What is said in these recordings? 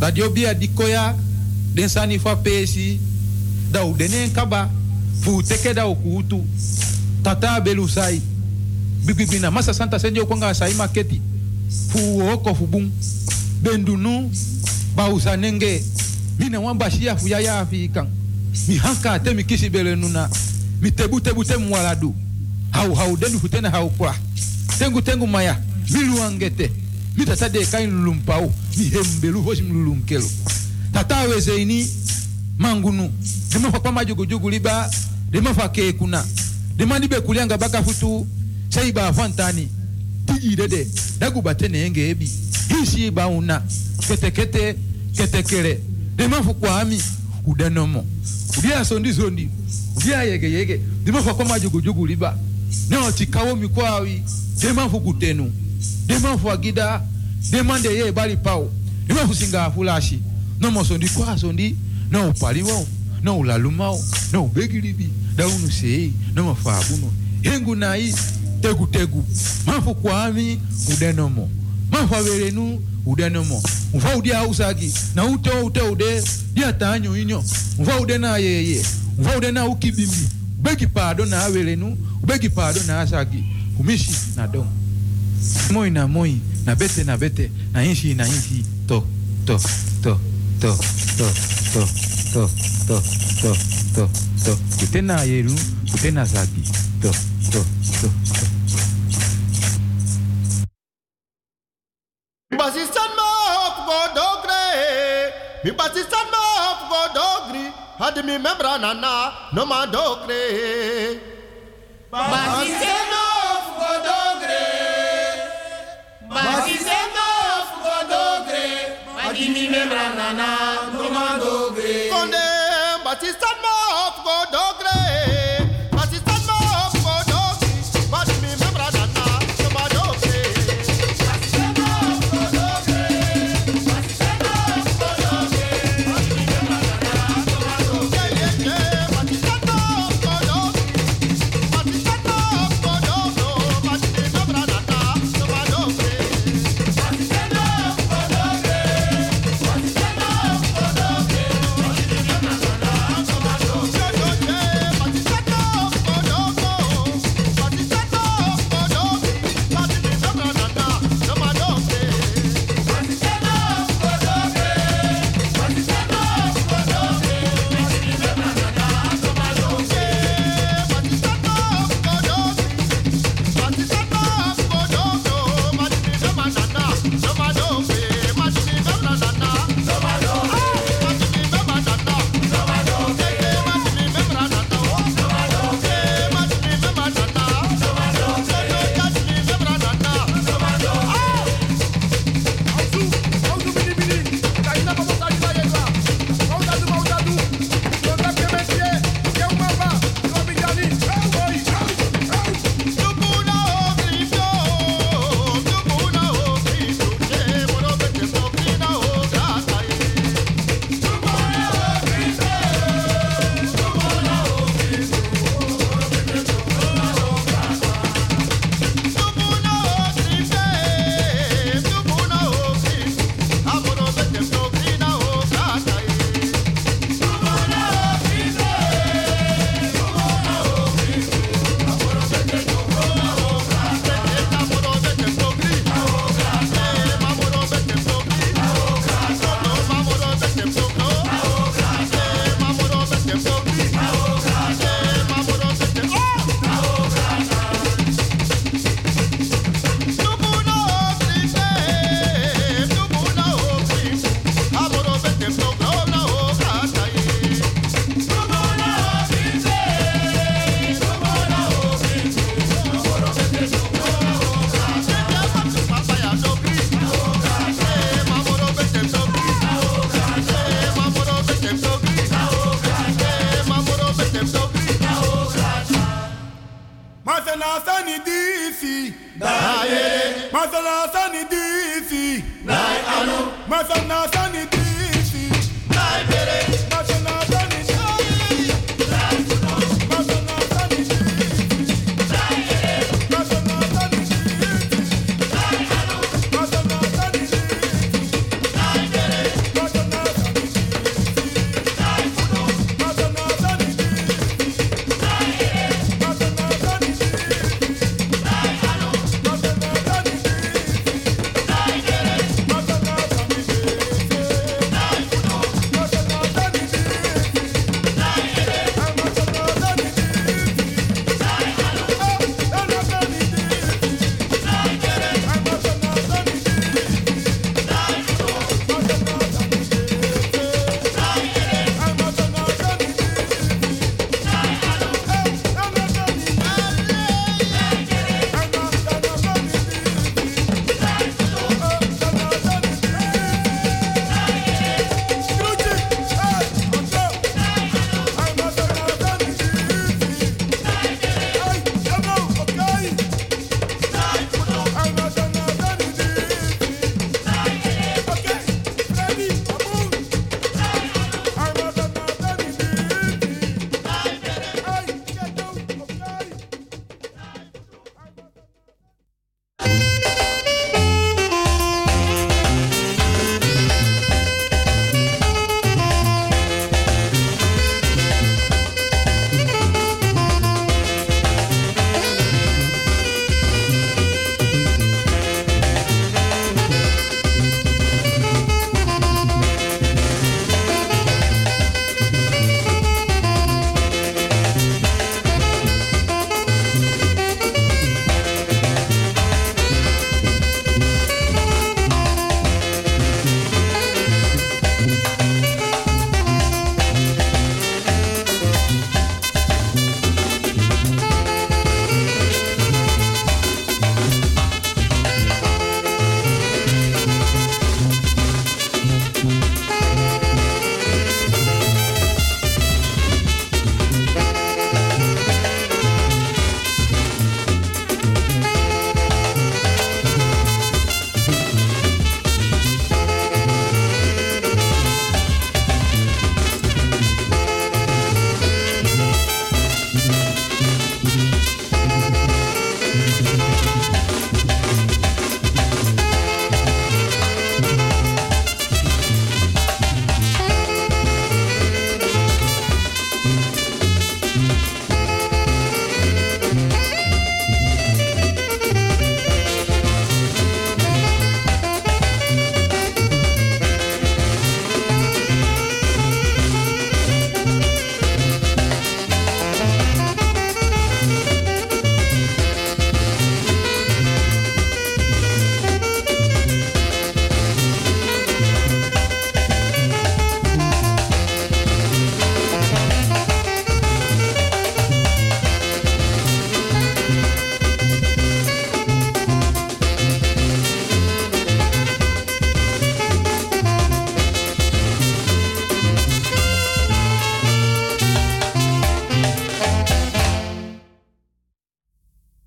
Radio bia dikoya den sani fa pesi da u denen kaba fu teke da ukutu tata belusai bibibina masa santa senjo konga sai maketi fu oko fu bum bendunu ba usanenge mina wamba shia fu ya afikan mi hanka te mi kisi belenuna mi tebu mwaladu hau denu futena hau kwa tengu maya milu angete mi tata de kain lulumpau mi hembelu hosi mlulunkelo tata wezeini mangunu dema fa pama jugu liba dema fa ke kuna dema dibe kulianga baka futu saiba fantani tigi dede dagu batene enge ebi hisi ba una ketekere dema fu kwa ami udenomo udia sondi udia yege dema fa pama jugu liba no tikawo mikwawi dema fu kutenu dema fu agida dema de ye bali pao dema fu singa fulashi no mo sondi no paliwo no lalumao no begilibi daunu sei no fabuno hengu nai tegu mafu kwami udenomo mafu verenu udenomo mfa udia usagi na ude dia tanyo inyo mfa ude na yeye mfa ude na ukibimbi begi pado na verenu begi pado na asagi kumishi na dom moi na bete na inshi to kutena yeru kutena zagi to Basistan ma go dogre mi basistan ma go dogri had mi membra nana no ma dogre basistan ma go dogre basistan ma go dogre had mi membra nana no ma dogre konde basistan ma go dogre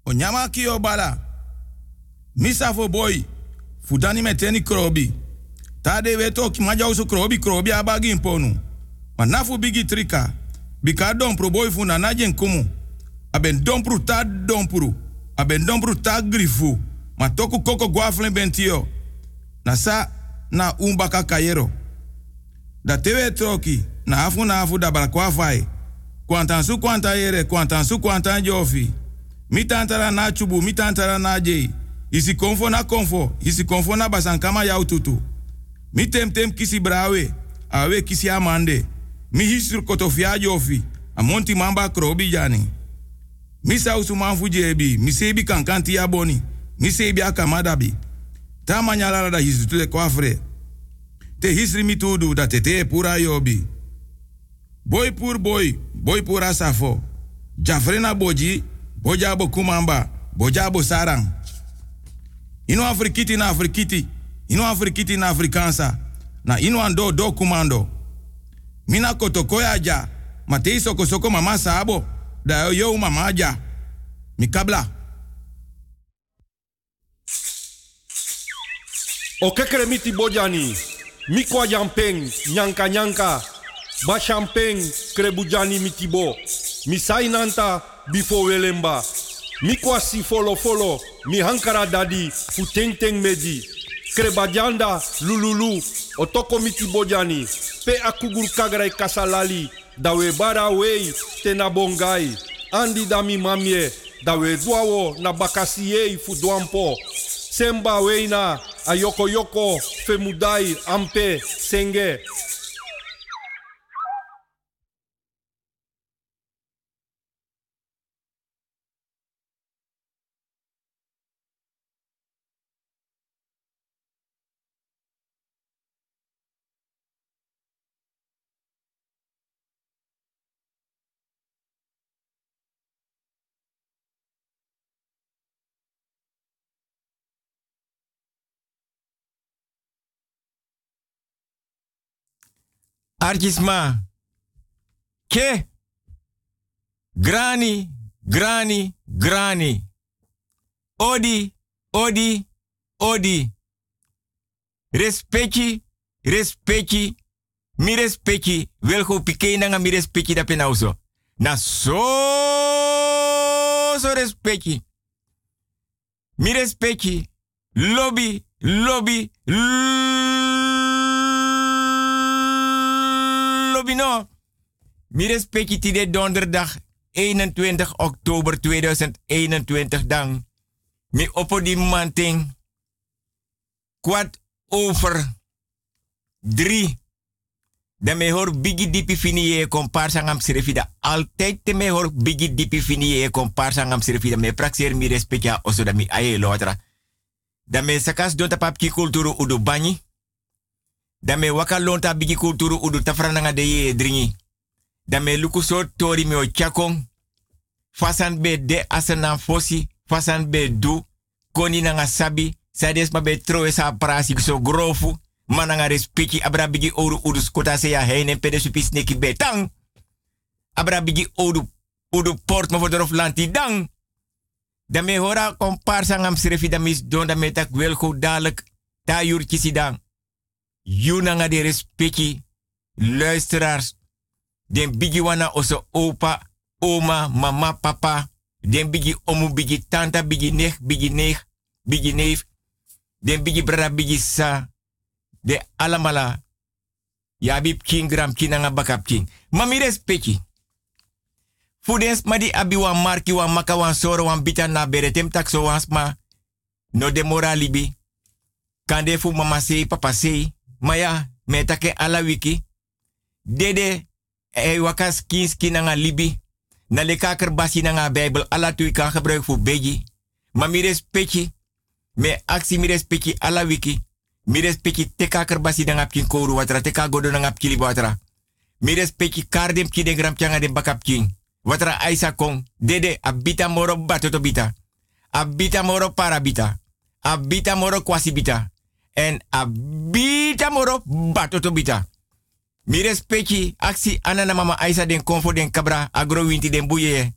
Onyama kio bala. Misa fo boy. Fudani meteni krobi. Tade weto ki maja usu krobi abagi imponu. Manafu bigi trika. Bika dompru boy fu na najen kumu. Aben dompru ta dompru. Aben dompru ta grifu. Matoku koko guaflen bentio. Nasa na umbaka kayero. Da tewe troki. Na afu da balakwa fai. Kwantansu kwanta yere. Kwantansu kwanta jofi. Mitantara na chubu. Mitantara na jei. Isi konfo na basankama yau tutu. Mi tem kisi brawe. Awe kisi amande. Mi hisru kotofia jofi. Amonti mamba krobi jani. Mi sausu manfu jebi. Mi sebi kankanti ya boni. Mi sebi akamadabi. Ta manyalara da hisru tule kwafre. Te hisri mi tudu da tete pura yobi. Boy pura safo. Jafrena boji. Bojabo kumamba. Bojabo sarang. Ino afrikiti na afrikiti. Ino afrikiti na afrikansa. Na ino ando do kumando. Mina kotokoya ja. Matei soko mama sabo. Da yo mama ja. Mikabla. Okekere miti bojani. Mikwa jampeng. Nyanka. Ba champeng krebujani mitibo. Misai nanta bifo welemba. Mikwa si folo. Mi hankara dadi fu teng meji. Krebajanda lululu. Otoko miti bojani. Pe akugur kagrai kasalali. Dawe bara wei tena bongai. Andi dami mamie. Dawe duawo na bakasiye fu duampo. Semba weina ayoko femudai ampe senge. Argisma. Ke. Granny. Odi. Respecti. Mi respecti. Welgo pike nanga mi respecti da penauso. Na so respecti. Mi respecti. Lobby. No. Mi respecti de donderdag 21 oktober 2021 dan. Mi oppo di manting. 3:15. Dan me hoor bigi dipi fini e comparsa ngam sirefida. Altijd te me hoor bigi dipi fini e comparsa ngam sirefida. Me praxer mi respectia oso da mi aye lotra. Dan me sakas donta papki kulturu udu banyi. Dan me waka lonta bigi kulturu udu tafrananga de ye dringi. Dan me luku so tori me o chakong. Fasan be de asanan fosi. Fasan be du. Koni nanga sabi. Sades ma be troe sa prasi so grofu. Mananga respecti abra bigi oru udu skota se ya heine pede supis neki betang. Abra bigi udu port ma vodorof lanti dang. Dan me hora komparsa ngam srefi da mis don da me tak welko dadelijk ta yurtje sidang. Yunanga de respecti luisteraars. Den bigi wana oso opa, oma, mama, papa. Den bigi omu, bigi tanta, bigi neef, bigi neef. Den bigi brada, bigi sa. De alamala. Ya bib king gram kinanga bakap king. Mami respecti. Fudens madi abi wan marki wan maka wan soro wan bita na beretem tak so wan sma. No de moralibi. Kande fu mama sei, papa sei. Maya, metake ala wiki. Dede, wakas kinski nanga libi. Na leka kerbasi nanga Bijbel. Ala tu kan gebruik voor beji. Maar mi respecti. Me aksi mi respecti ala wiki. Mi respecti teka kerbasi nanga pkin koru watra. Teka godo nanga pkili watra. Mi respecti kardem ki de gram changa de bakap king. Watra aisa kong. Dede, abita moro batoto bita. Abita moro parabita. Abita moro kwasi bita. En abita moro batoto bita. Mi respecti aksi anana mama Aisa den konfo den kabra agro winti den buye.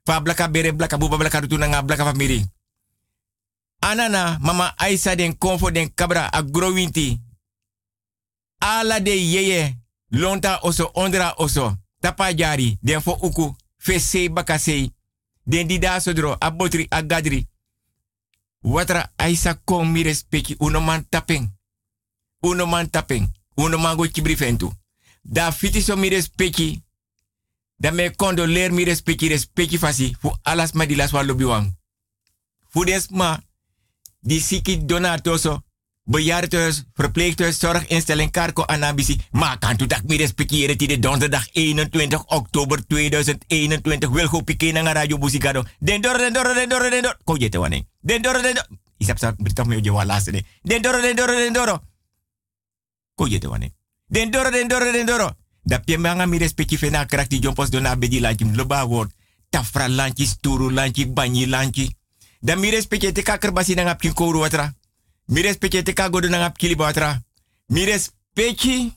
Fa blaka bere blaka buba blaka rutu nga blaka famiri. Anana mama Aisa den konfo den kabra agrowinti. Ala de yeye lonta oso ondra oso. Tapa jari den fo uku fese bakasei. Den dida sodro abotri agadri. Watra Aisa kon mi respecti unoman tapeng. Unoman tapeng. Unoman go chibrifentu. Da fiti so mi respecti. Da me condoleer mi respecti fasi. Fu alas ma di las wa lobiwang. Fu desma die siki donatoso. Bejaardentehuis, verpleeghuis, zorginstelling, Karko Anabisi. Maar kan toen dat mi respecteren die de donderdag 21 oktober 2021 wil go pikeen naar Radio Busigado. Den doro. Ko je te wanneer. Den doro. Isap sa berita me ojo laatste ne. Den doro. Ko je te wanneer. Den doro. Da pie manga mi respecti fena karakti jompos dona bedi lanchi loba word. Tafra lanchi, sturu lanchi, banyi lanchi. Da mi respecti te kakerbasi na ngapkin kouru watra. Mi respecti te kagodo na ngapkili watra. Mi respecti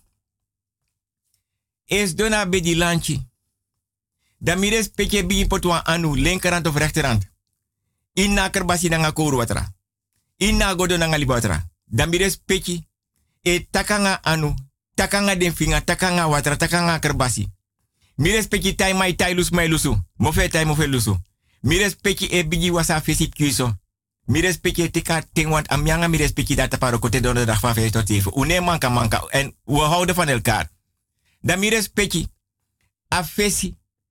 is dona bedi lanchi. Da mi respecti bi potwa anu linkerhand of rechterhand. Inna kerbasi na ngakouru watra. Inna godo na ngaliba watra. Da mi respecti e takanga anu. Takanga den finga, takanga watra, takanga kerbasi. Mi respecti tai mai tai lus mai lusu. Mofe tai mofe lusu. Mi respecti e bigi wasa fesi kuiso. Mi respecti tika ting want amyanga mi respecti data paro kote donderdag van 5 tot 7. Une manka. En we houden van elkaar. Dan mi respecti a fesi.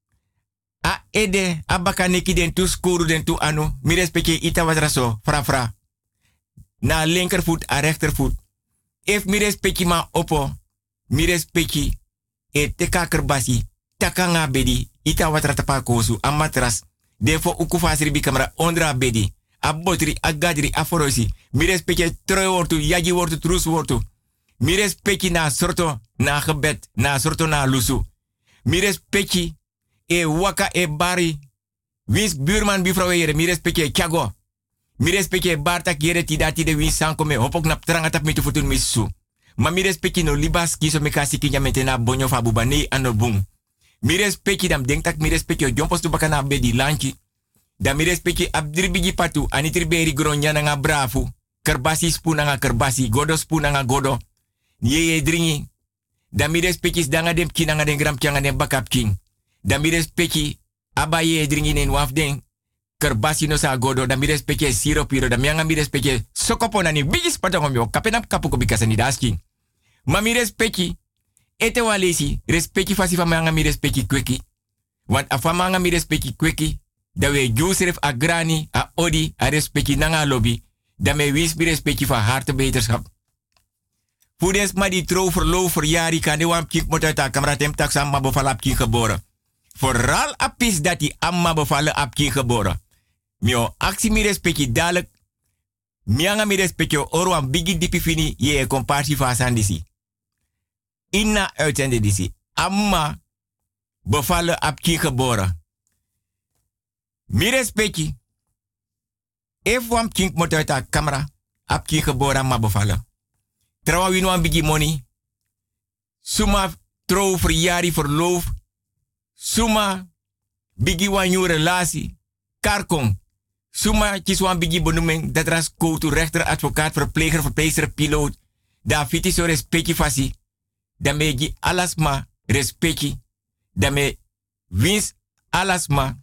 A ede, a bakaneki den tu skuru den tu anu. Mi respecti ita watra so, fra. Na linkervoet, a rechtervoet. If mi respecti ma opo. Mi respecti e teka kerbasi. Takanga bedi. Ita watra tapa kosu. A matras. Defo ukufasri bi kamera ondra bedi. A botri, a gadri, a forosi. Mi respecti troi wortu, yaji wortu, trus wortu. Mi respecti na sorto, na gebed, na sorto na lusu. Mi respecti e waka e bari. Wins buurman bifrouw ere. Mi respecti e chago. Mi respecti e bartak yere tidati de wins sanko me. Hopok nap trangatap mi tufutun misu. Ma mi respecti no libas kiso me kasi kinya metena bonyo fa bubane anobung. Mi respecti dam denktak mi respecti o jompos tu bakana bedi lanchi. Da mi respecti abdribigi patu anitriberi gronya nga brafu. Kerbasi spuna nga kerbasi, godo spuna nga godo. Yeye dringi. Da mi respecti danga dem kina nga den gram kyanga den bakap king. Da mi respecti abaye dringi nen wafden. Kerbasi no sa godo, da mi respecti siropiro, da mi respecti sokopona ni bigis patangom yo, kapenap kapuko bikasa ni dasking. Ma mi respecti ete walesi, respecti fasi fa mi respecti kweki. Want afamanga mi respecti kweki, da we Joseph a grani, a odi, a respecti nanga lobby, da me wins mi respecti van hartebeterschap. Voedens ma die trouw verloof verjari kan de wam kink moet uit de kamera tem tax amma bevallen op kin geboren. Vooral apis dat die amma bevallen op kin geboren. Mio actie mi respecti dadelijk, mianga mi respecti orwan bigi dipi fini ye compartie van sandisi. Inna uitzende disi. Amma bevallen op kin geboren. Mi respecti. If wam kink moet uit de camera op kin geboren ma bevallen. Trouwa win wan bigi money. Suma trouw verjari verloof. Suma bigi wan nieuwe relatie. Karkong. Suma kis wan bigi benoeming. Dat ras koutu rechter, advocaat, verpleger, verpleegster, piloot. Da fiti so respecti fasi. Dame gi alasma respecti. Dame wins alasma.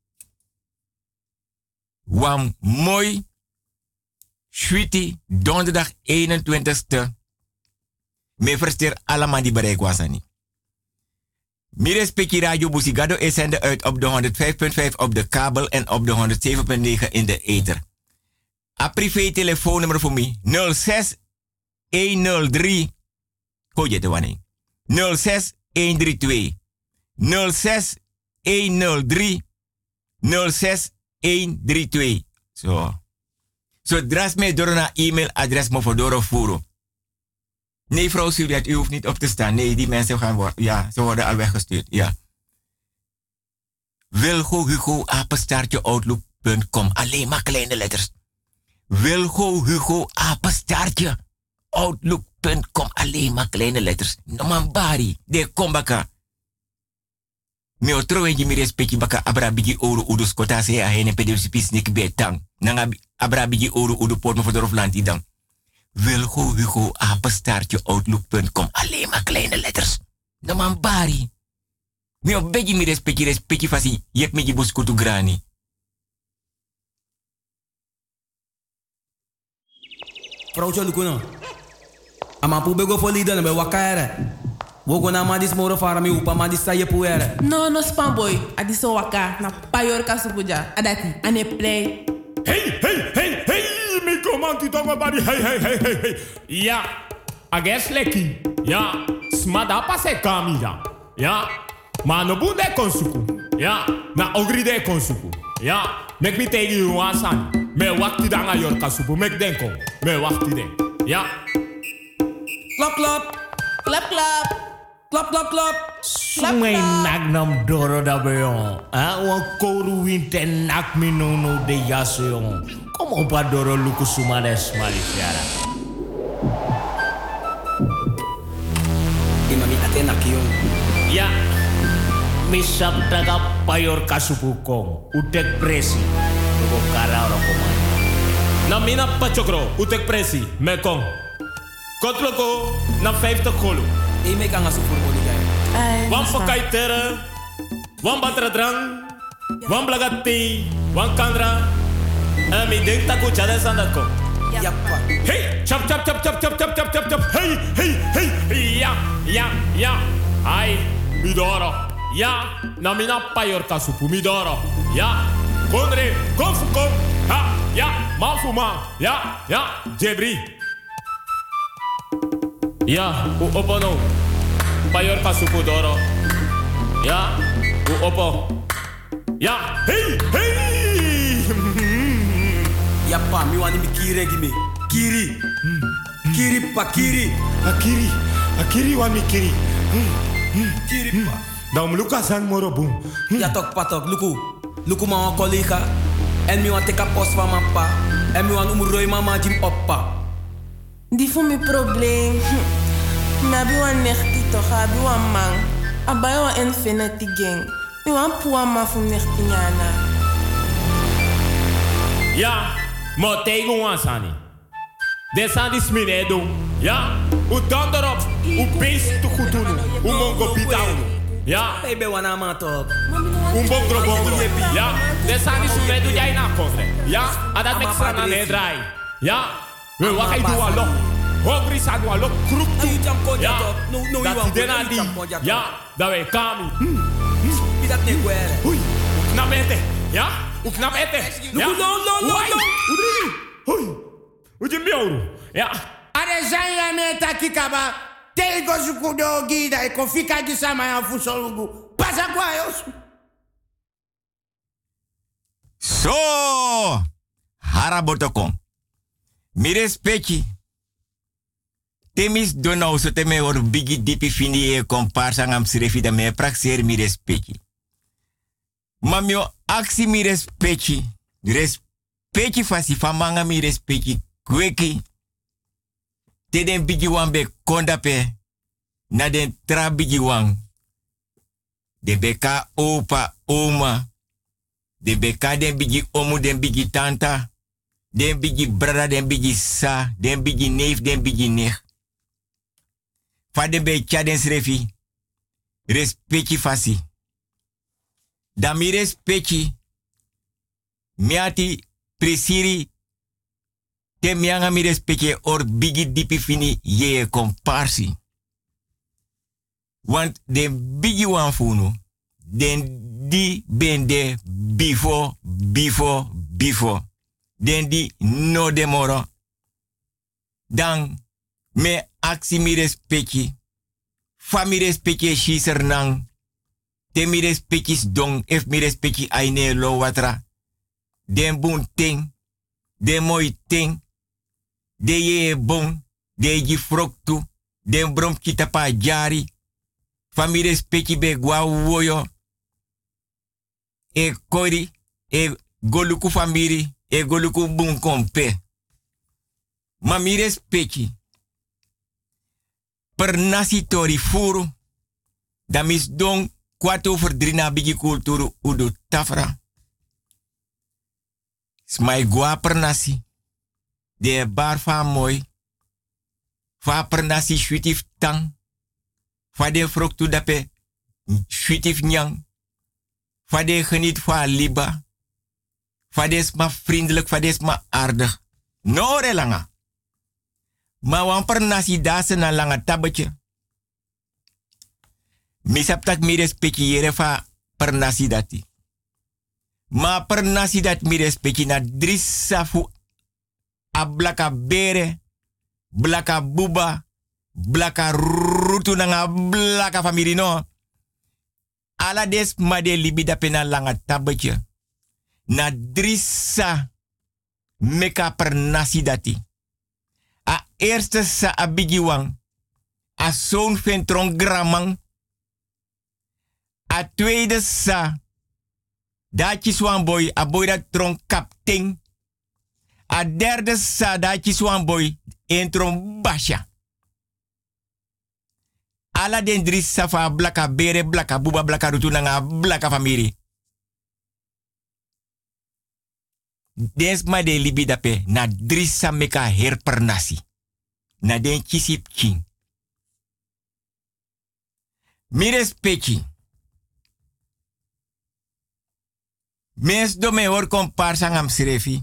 Wan mooi. Sweetie, donderdag 21ste. Me versteer allemaal die bereik was niet. Mi respecti Radio Busigado is zender uit op de 105.5 op de kabel en op de 107.9 in de ether. A privé telefoonnummer voor mij 06 103. Hoe je de wanneer? 06 132. 06 103. 06 132. Zo. Zo dras mij door een e-mailadres me voor doorvoeren. Nee, vrouw Sylvia, u hoeft niet op te staan. Nee, die mensen gaan worden. Ja, ze worden al weggestuurd. Ja. wilgohugo@outlook.com. Alleen maar kleine letters. wilgohugo@outlook.com. Alleen maar kleine letters. No man bari. De kombaka. Me otro wenji mi respecti baka abra bigi oru udu skota se a hene pedipis nik betang. Nanga abra bigi oru udu port me voor de dan. Wilgo Hugo apenstaartje outlook.com. Alleen maar kleine letters. No man bari. Me op begi mi respecti fasi. Yep me jibus kutu grani. Vrouwtje Lukuno. Amapu bego for leader na be wakaere. Wogo na madis moro fara mi upa madis sa yepuere. No spanboy. Adiso waka na payor kasupuja. Adati ane play. Hey, mi comanti tongo bari. Hey. Ja, ages leki. Ja, smada pase kamida. Ja, ma no bunde konsuku. Ja, na ogri de konsuku. Ja, mek mi tegi you wasan. Me wakti danga yor kasupu. Mek denko. Me wakti den. Ja. Klap, klap. Klap, klap. Klap, klap, klap. Sumay nagnam doro da beyon. Wan koru winte nak mi no de yaso yon. Kom op a doro luku sumades malifiara. Imami atena kiyon. Ja. Misap daga payor kasupu kong. Utek presi. Tugo kara oro komay. Na mina pachokro. Utek presi. Mekong. Kotloko na 50 kolo. E me kanga su formuli gay. Wan pakai tere. Wan batra drang. Wan blagati. Wan kandra. En mi denk taku chades aan dat kom. Yappa. Hey, chop. Hey. Ja. Ai, midoro. Ja, na mina payor kasupu midoro. Ja, konre, konfukom. Ha, ja, mafuma. Ja, jebri. Ja, u opono. Payor kasupu doro. Ja, u opo. Ja, hey. Yappa, mi wani mi kiri gime. Kiri. Kiri pa kiri. Akiri wan mi kiri. Kiri pa. Dan Lucas san moro boom. Ja tok patok, Luku ma wan collega. En mi wan teka post van mijn pa. En mi wan umuroi mama jim oppa. Die voor mijn probleem. Me abi wan nechti toch, abi wan man. Abai wan infinity gang. Me wan puwa ma fu nechti nyana. Ja, maar tegen ons aan. Dit zijn die sminedo. Ja, u dan erop. U beest te goed doen. U mongo bitaun. Ja, Baby wana ma tok. u bongro. Ja, dit zijn die sminedo jij na kofre. Ja, en dat met strana ne draai. Ja, we wakai doa lo. Hongri sa doa lo kruk tu. Ja, dat die dena die. Ja, dat wij kami. Bidat ne gwere. Hui, knap ete. Ja, u knap ete. Ja, no. Hui, u je mioru. Ja. Are zanya me takikaba. Tego zukudo gida e kofika gisama ya fusolugu. Pasa kwa yos. So, harabotokon. Mi respecti. Temis donau so teme or bigi dipi fini e komparsa ngam srefi da me praxer mi respecti. Mamio aksi mi respecti. Respecti fasi famanga mi respecti. Kweki. Te den bigi wan be kondape. Na den tra bigi wan. De beka opa oma. De beka den bigi omu den bigi tanta. Den bigi brada den bigi sa. Den bigi neef den bigi nech. Fa den be chaden srefi. Respecti fasi. Da mi respecti. Miati presiri. Te mianga mi respecte or bigi dipi fini ye komparsi. Want den bigi wan funu. Den di bende before. Den di no demoro. Dan me aksi mi respecte. Fa mi respecte shiser nang. Te mi respecte dong ef mi respecte aine lo watra. Den bun ting. Den mooi ting. De ye bon, de ji froktu, den brom kitapa jari, famire speki be gwa woyo, e kori, e goluku famiri, e goluku bun kompe. Mamire speki, per nasi tori furu, da mis don kwart over 3 na bigi kulturu udu tafra. Smai gua pernasi. De bar fa mooi. Fa pernasi shuitif tang. Fa de froktu dape shuitif nyang. Fa de geniet fa liba. Fa de sma vriendelijk, fa de sma aardig. No relanga. Ma wan pernasi dase na langa tabetje. Misap tak mi respecti yere fa pernasi dati. Ma pernasi dat mi respecti na drissa fu a blaka bere, blaka buba, blaka rutu nanga blaka famiri no. Ala des ma de libida pena langa tabetje. Na drissa meka pernasi dati. A eerste sa abigiwang. A zoon ventron gramang. A tweede sa. Dachi swan boy. A boy dat tron kapting. A derde sa. Dachi swan boy. En tron basha. Ala den dris sa fa blaka bere, blaka buba, blaka rutu nanga blaka famiri. Des ma de libi dape na drissa meka herpernasi. Na den kisip king. Mires pechi. Mes do me hor komparsa ngam srefi.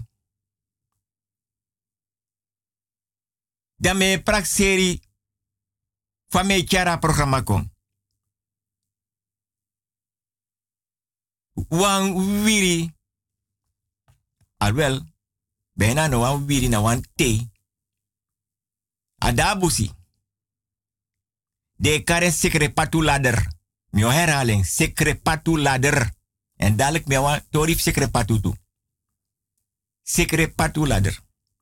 Da me prak seri fa me chara programa kon. Wan wiri. Alwel, bijna no wan wiri na wan te. Adabusi. De karen sekre patu ladder. Mio herhaling, sekre patu ladder. En dadelijk me wan torif sekre patu tu. Sekre patu ladder.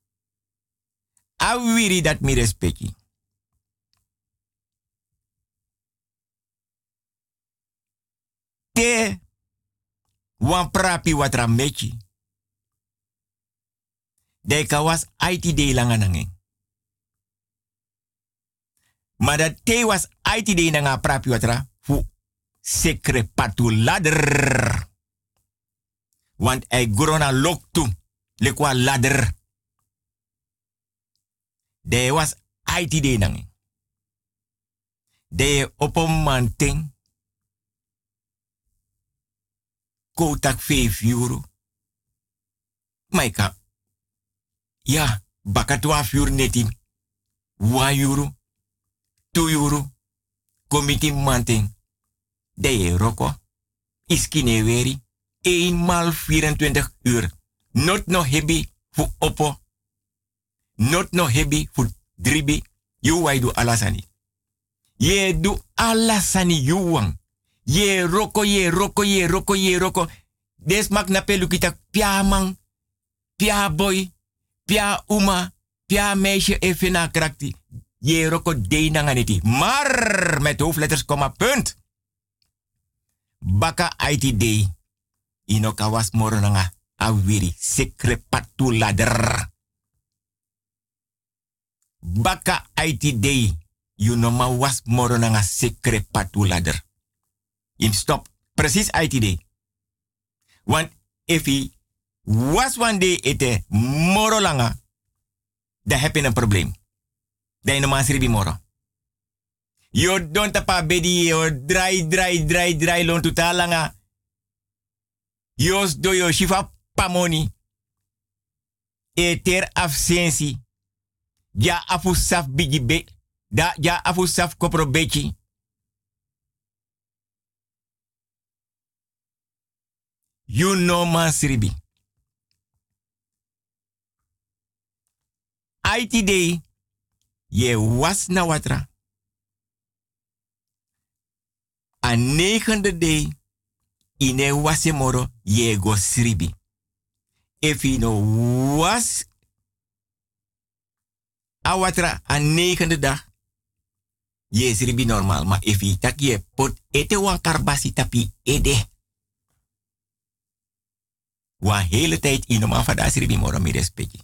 A wiri dat mi respecti. Te wan prapi watra mechi. De kawas IT de langanangeng. Maar dat te was IT de nanga prapi watra fu sekre patu ladder. Want hij grona loktu lekwa ladder. De was IT de nangeng. De opomanting. Kotak 5 euro. Maika. Ja, baka 12 euro netin. 1 euro. 2 euro. Komiti manting. De roko. Iskine weri. 1 maal 24 uur. Not no hebi fu oppo. Not no hebi fu dribi. You wai do alasani. Ye do alasani you wang. Ye roko, ye roko, ye roko, ye roko. Des mak na pelukita pia man, pia boy, pia uma, pia meisje even na krakti. Ye roko de nanganiti. Maar met hoofdletters, komma, punt. Baka IT day. Ino kawas moro nanga awiri. Sekre patu ladder. Baka IT day. You know ma was moro nanga sekre patu ladder. In stop. Precies IT day. Want if he was one day ete moro langa, dan heb je een probleem. Dan je normaal sribi moro. Yo don tapa bedi yo dry lon tuta langa. Yos do yo shifa pamoni. Eter absentie. Ja afusaf bigi be. Ja afusaf kopro bechi. You know man sribi. IT day. Je was na watra. A 9e day. Ine wase moro. Je go sribi. If you know was. A watra a 9e dag. Je sribi normaal. Maar if you tak je pot ete wan karbasi tapi ede. Wa hele tijd in normaal van de asribi moro mi respecti.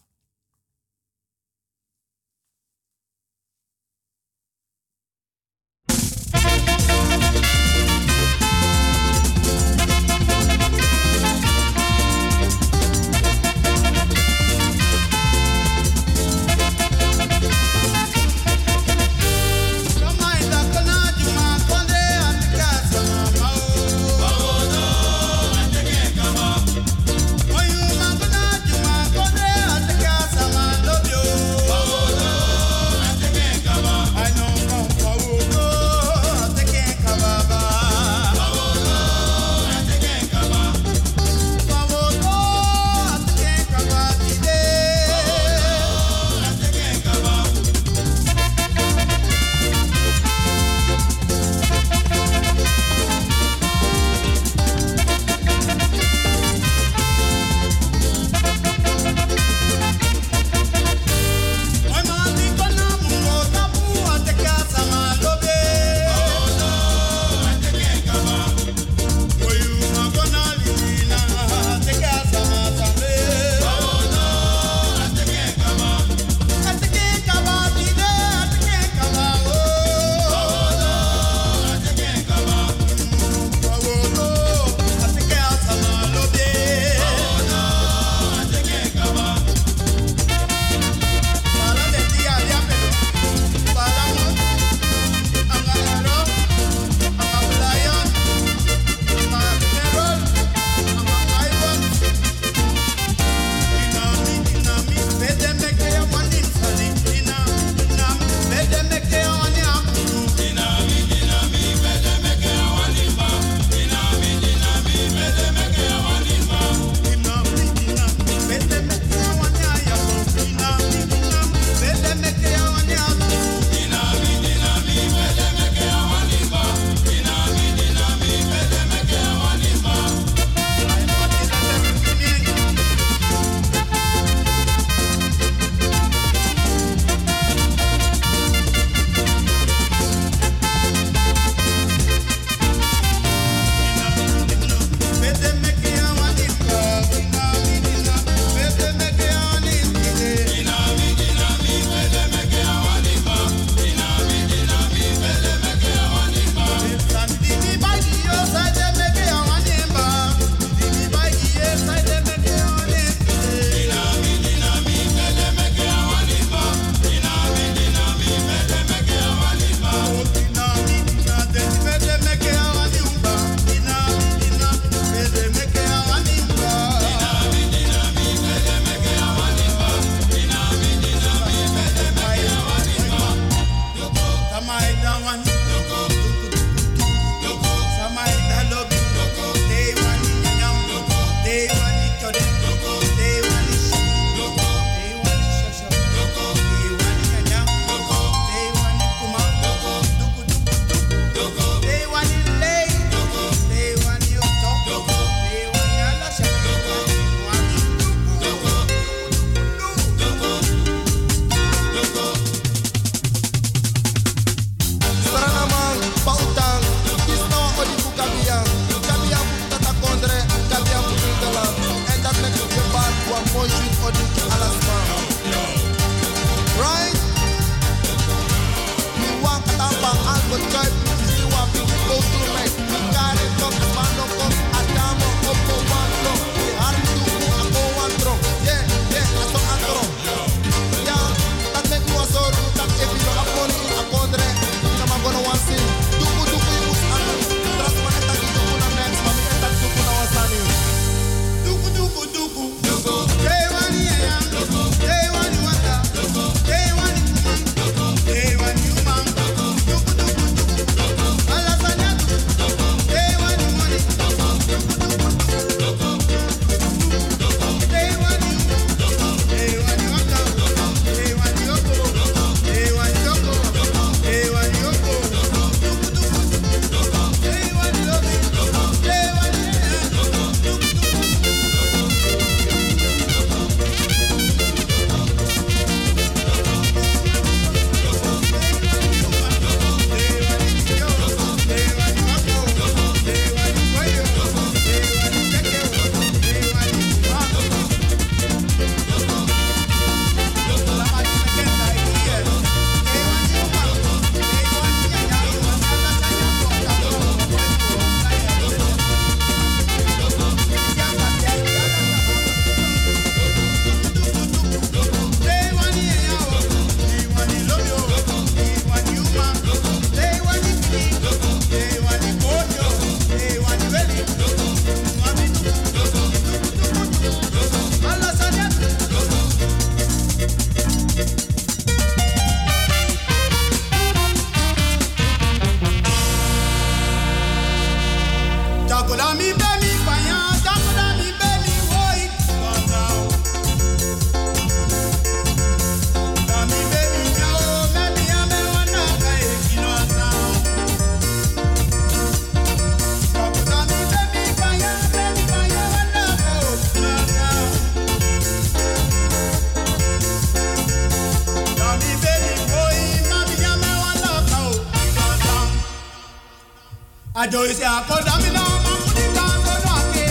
Ajo ise akoda mi na mafunika sono ake.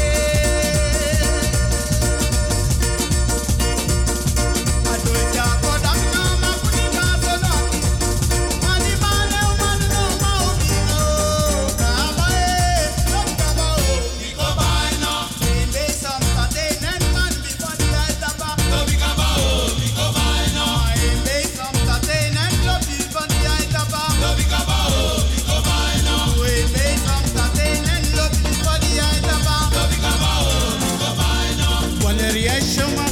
Ajo ise akoda mi na mafunika sono ake. Mani mane umani no maubino. Kabae, kabae, niko baino. Ebe samta de nen man before the aitaba. Lobi kabao, niko baino. Ebe samta de nen lobi before the aitaba. Lobi kabao, niko baino. Ebe samta de nen lobi before the aitaba. Lobi kabao, niko baino. Valeria Shoma.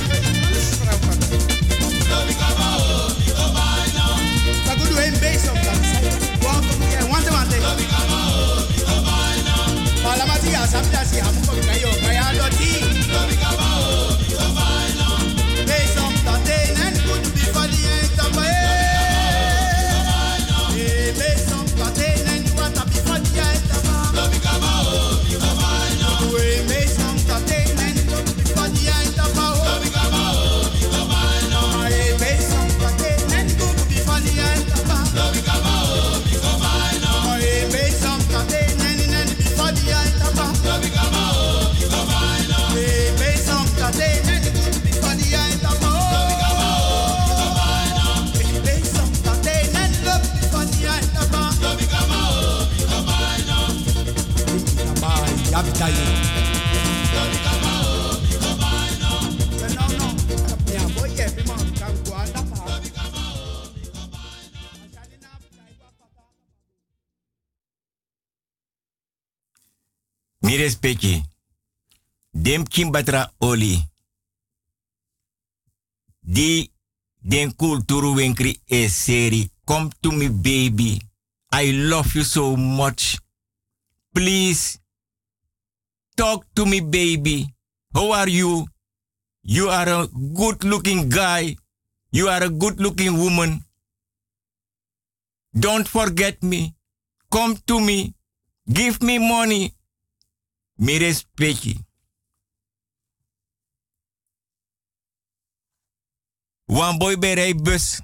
Lobi kabao, niko baino. Tagudu ebe samta. Wante. Lobi kabao, niko baino. Palamati asapta si hamu ko kayo kaya doti. Lobi kabao, niko baino. Ebe samta de nen kudu before the aitaba. Ebe samta de nen wata before the aitaba. Lobi kabao, niko baino. Ebe samta de nen kudu before the aitaba. Lobi kabao, niko baino. Ebe samta de nen kudu before the aitaba. Lobi kabao, niko baino. Ebe samta de nen before the aitaba. Lobi kabao, niko baino. Ebe samta de nen kudu before the aitaba. Lobi kabao, niko baino. Ebe samta de nen kudu before the aitaba. Lobi kabao, niko baino. Yabitaye. Lobi kabao, niko baino. No. Ya boy ke pima kan kuanda pa. Lobi kabao, niko baino. Mashalina bitai wa pata. Mi respecti. Dem kimbatra oli. Di den kulturu wenkri e seri. Come to me baby. I love you so much. Please. Talk to me baby. How are you? You are a good looking guy. You are a good looking woman. Don't forget me. Come to me. Give me money. Mi respecti. Wan boy berei bus.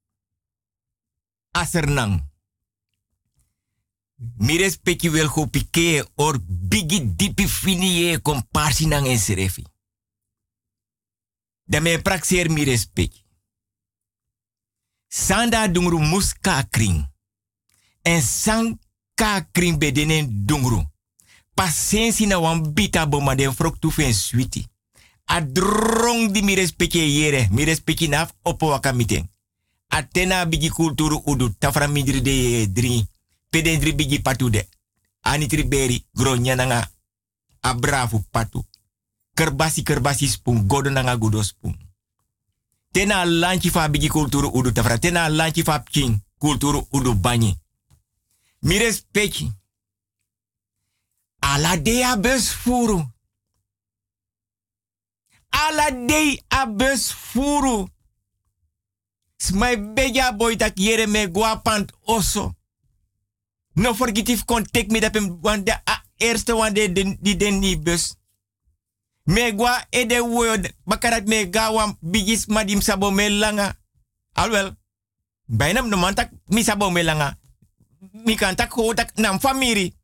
Asernang. Mi respecti wel go pike or bigi dipi finie komparsi nang en serefi. Da me praxeer mi respecti. Sanda dungru muska kring. En sang ka kring bedenen dungru. Pasensi na wan bita boma den frok tu fen switi. A drong di mi respecti yere. Mi respecti naf opo wakamiten. Atena bigi kulturu udu. Tafra midri de dri. Pedendri bigi patu de. Anitri beri. Gronya nanga. Abrafu patu. Kerbasi spoon. Godo nanga gudo spoon. Tena lanchi fa bigi kulturu udu. Tafra tena lanchi fa pking. Kulturu udu banyi. Mi respecti. Ala de a bus furu. Ala de a bus furu. Smai beja boy tak yere me guapant oso. No forget if contact me dat hem de eerste one die den ni bus. Me gua ede word bakarat me gawa bigis madim sabo me langa. Alwel. Bijna no mantak mi sabo me langa. Mi kan tak ho tak nam famiri.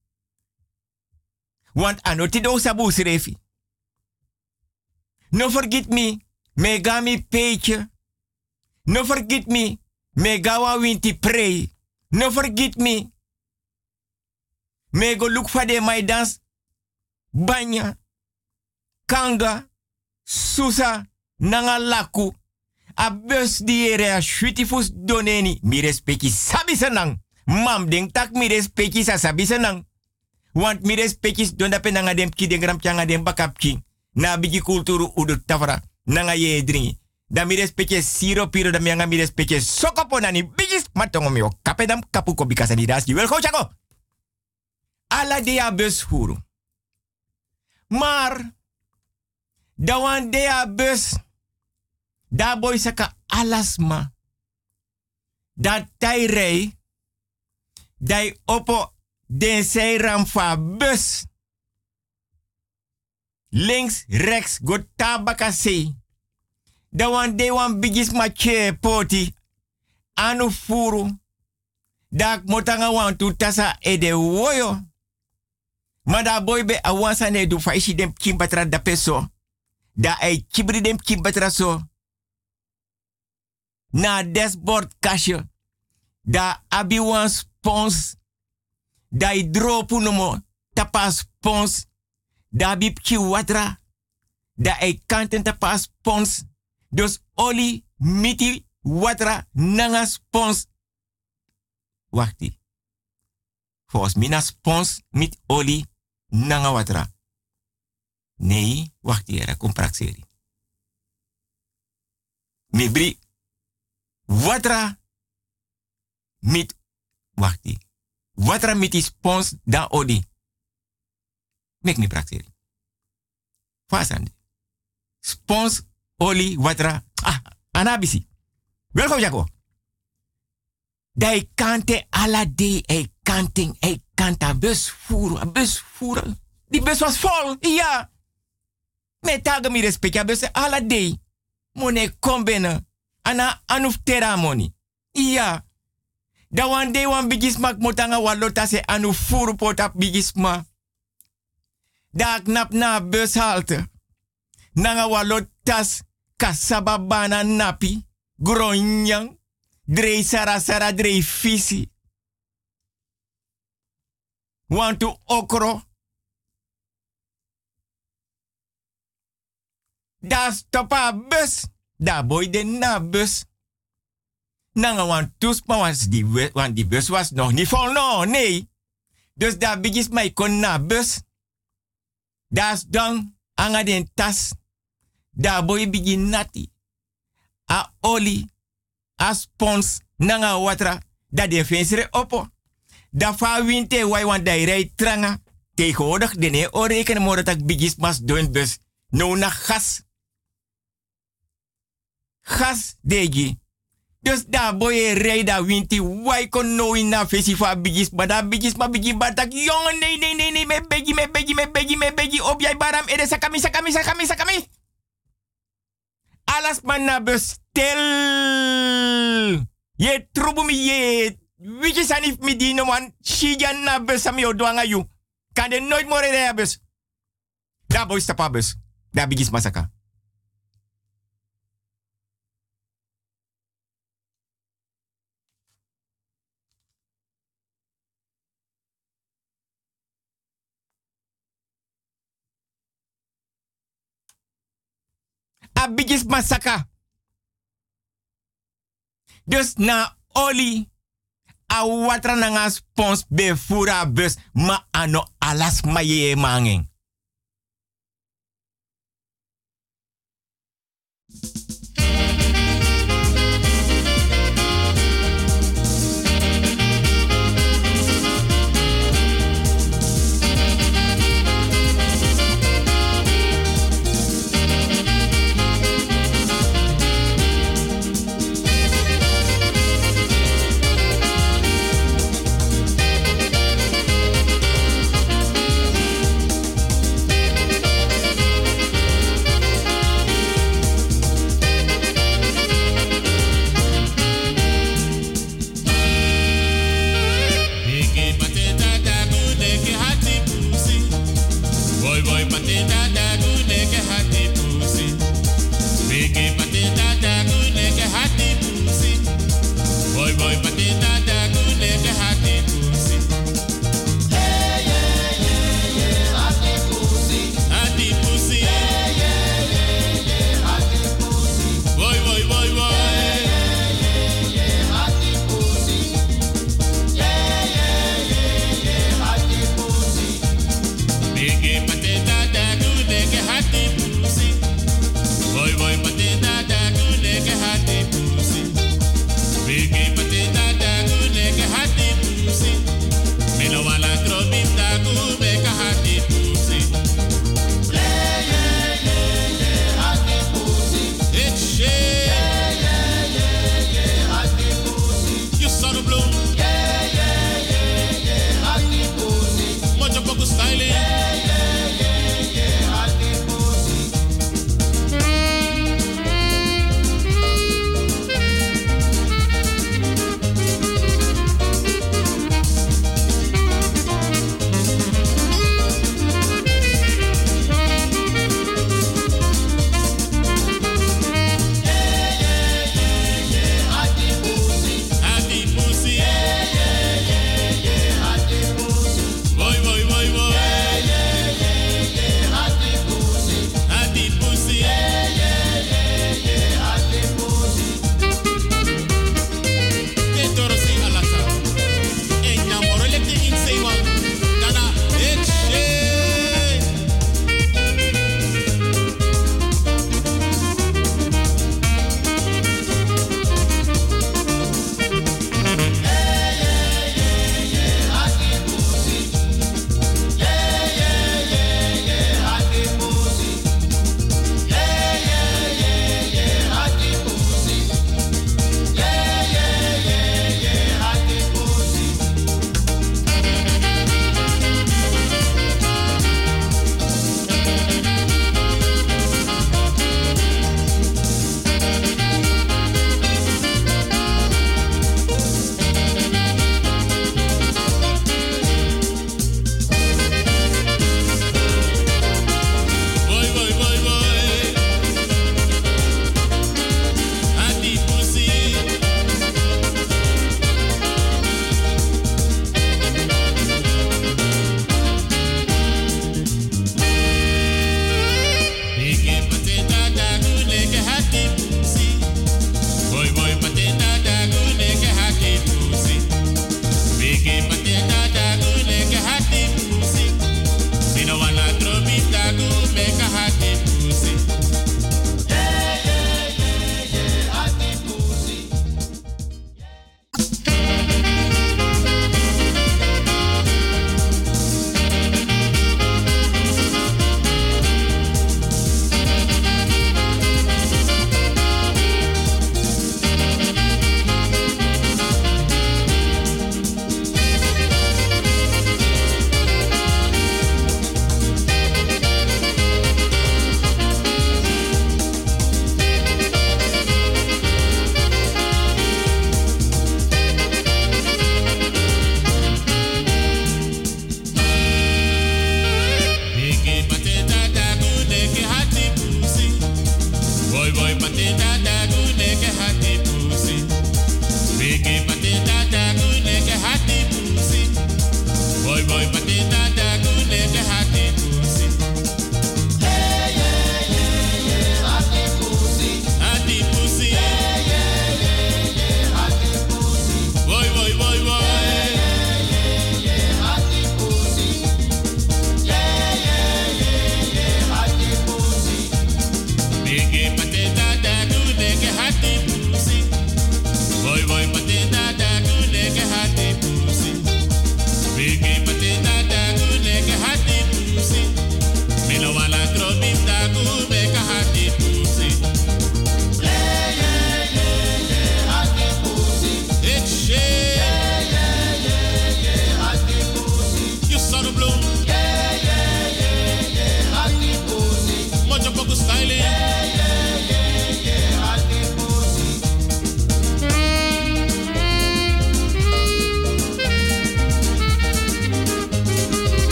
Want anoti do sabu srefi. No forget me ga mi peetje. No forget me gawa winti pray. No forget me go look for the my dance. Banya, kanga, susa, nanga laku. A bus die ere a shutifus doneni. Mi respecti sabi senang. Mam ding tak mi respecti sa sabi senang. Want mi respecti don dape nanga dem ki den gram changa dem bakap king. Na bigi kulturu udu tafra. Nanga ye dringi. Da mi respecte siro piro da mianga mi respecte sokopo nani bigis matongo mio kapedam kapuko bikasa di das wel go chako. Ala dia bus huru. Maar da wan dia bus da boy saka alasma. Da tairei dai opo den sei ramfa bus. Links, rechts, go tabakasei. Da wan de wan bigis mache poti. Anu furu. Da motanga wan tu tasa ede woyo. Maar da boy be awansa ne du faishi dem kimbatra da peso. Da ai kibri dem kimbatra so. Na dashboard kasje. Da abi wan spons. Da i dropu nomo tapa spons. Da bip ki watra. Da ai kanten tapa spons. Dus oli miti watra nanga spons. Wachti. Volgens mina spons mit oli nanga watra. Nee, wachti era compraxeri. Mibri watra mit wachti. Watra mit die spons da oli. Mek mi praxeri. Fasande. Spons oli watra. Ah, anabisi. Welkom Jaco. Dai kante ala day e kanting e kanta bus voeren. Die bus was vol, ja. Met tagen mi respecta bus ala day. Mone kom binnen. Ana anuf tera moni. Ja. Da one day wan bigismak motanga walota se anu furu potap bigisma. Da knap na bus halte. Nanga walotas kasababana napi. Gronyang. Drei sara drei fisi. Want to okro. Da stopa bus. Da boy de na bus. Nanga want tuspa want die bus was nog niet vol. No, nee. Dus da bigis mij kon na bus. Das dan anga den tas. Da boy begin nati. A oli. A spons nanga watra. Da de fensere opo. Da fa winte wai want da rij tranga. Tegenwoordig de ne o rekenen mo dat bigis mas doen bus. No na gas. Gas degi. Dus da boy rij da winti wai kon no in na festival bigis. Maar da bigis ma bigi batak. Jongen nee. Me begi. Op jij baram ede sakami. Alas man na bus stil. Je trubu mi je. Wiki sanif mi dino man. Shijan na bus sami o doanga you. Kan de nooit more rijden bus. Da boy stapa bus. Da bigis masaka. A bigis masaka. Dus na oli. A watra nanga spons be fura bus. Ma ano alas ma ye mangeng.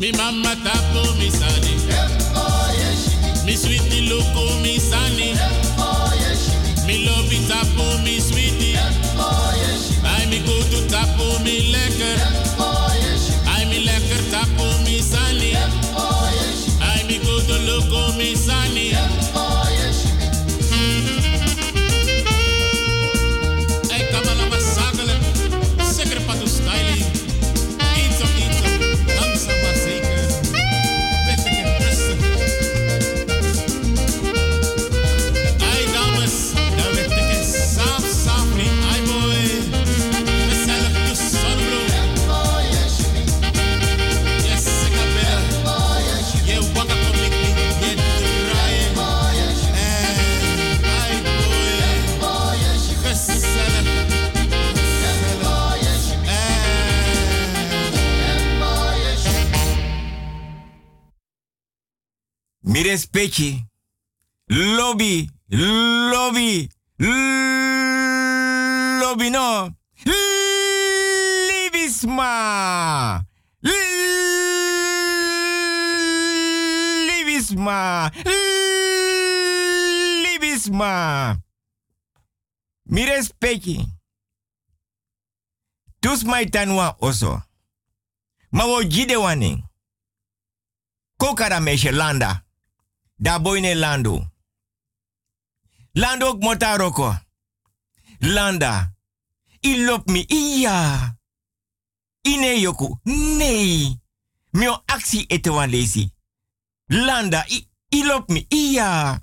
Mi mama tapo mi sani. Mi sweetie loko mi sani. Mi lobby tapo mi sweetie. Ai mi go to tapo mi lekker. Ai mi lekker tapo mi sani. Ai mi go to loko mi sani. Ai kamala masakele. Zeker patu styling. Iets op iets op. Langzaam maar zeker. Weten ik rusten. Ai dames. Dan weet ik het saaf niet. Ai boy. Mezelf de zonbloem. Yes, ik heb wel. Je wakker kom ik niet. Je draaien. Ai boy. Gezellig. Mi respecti. Lobby. Lobby. Lobby no. Libisma. Libisma. Libisma. Mi respecti. Dus mai tanwa oso. Ma wo jide waning. Kokara meshe landa. Da boyne lando. Lando ook motaroko. Landa. Ilop mi iya. Ine yoku. Nee. Mio actie etewan lesi. Landa. Ilop mi iya.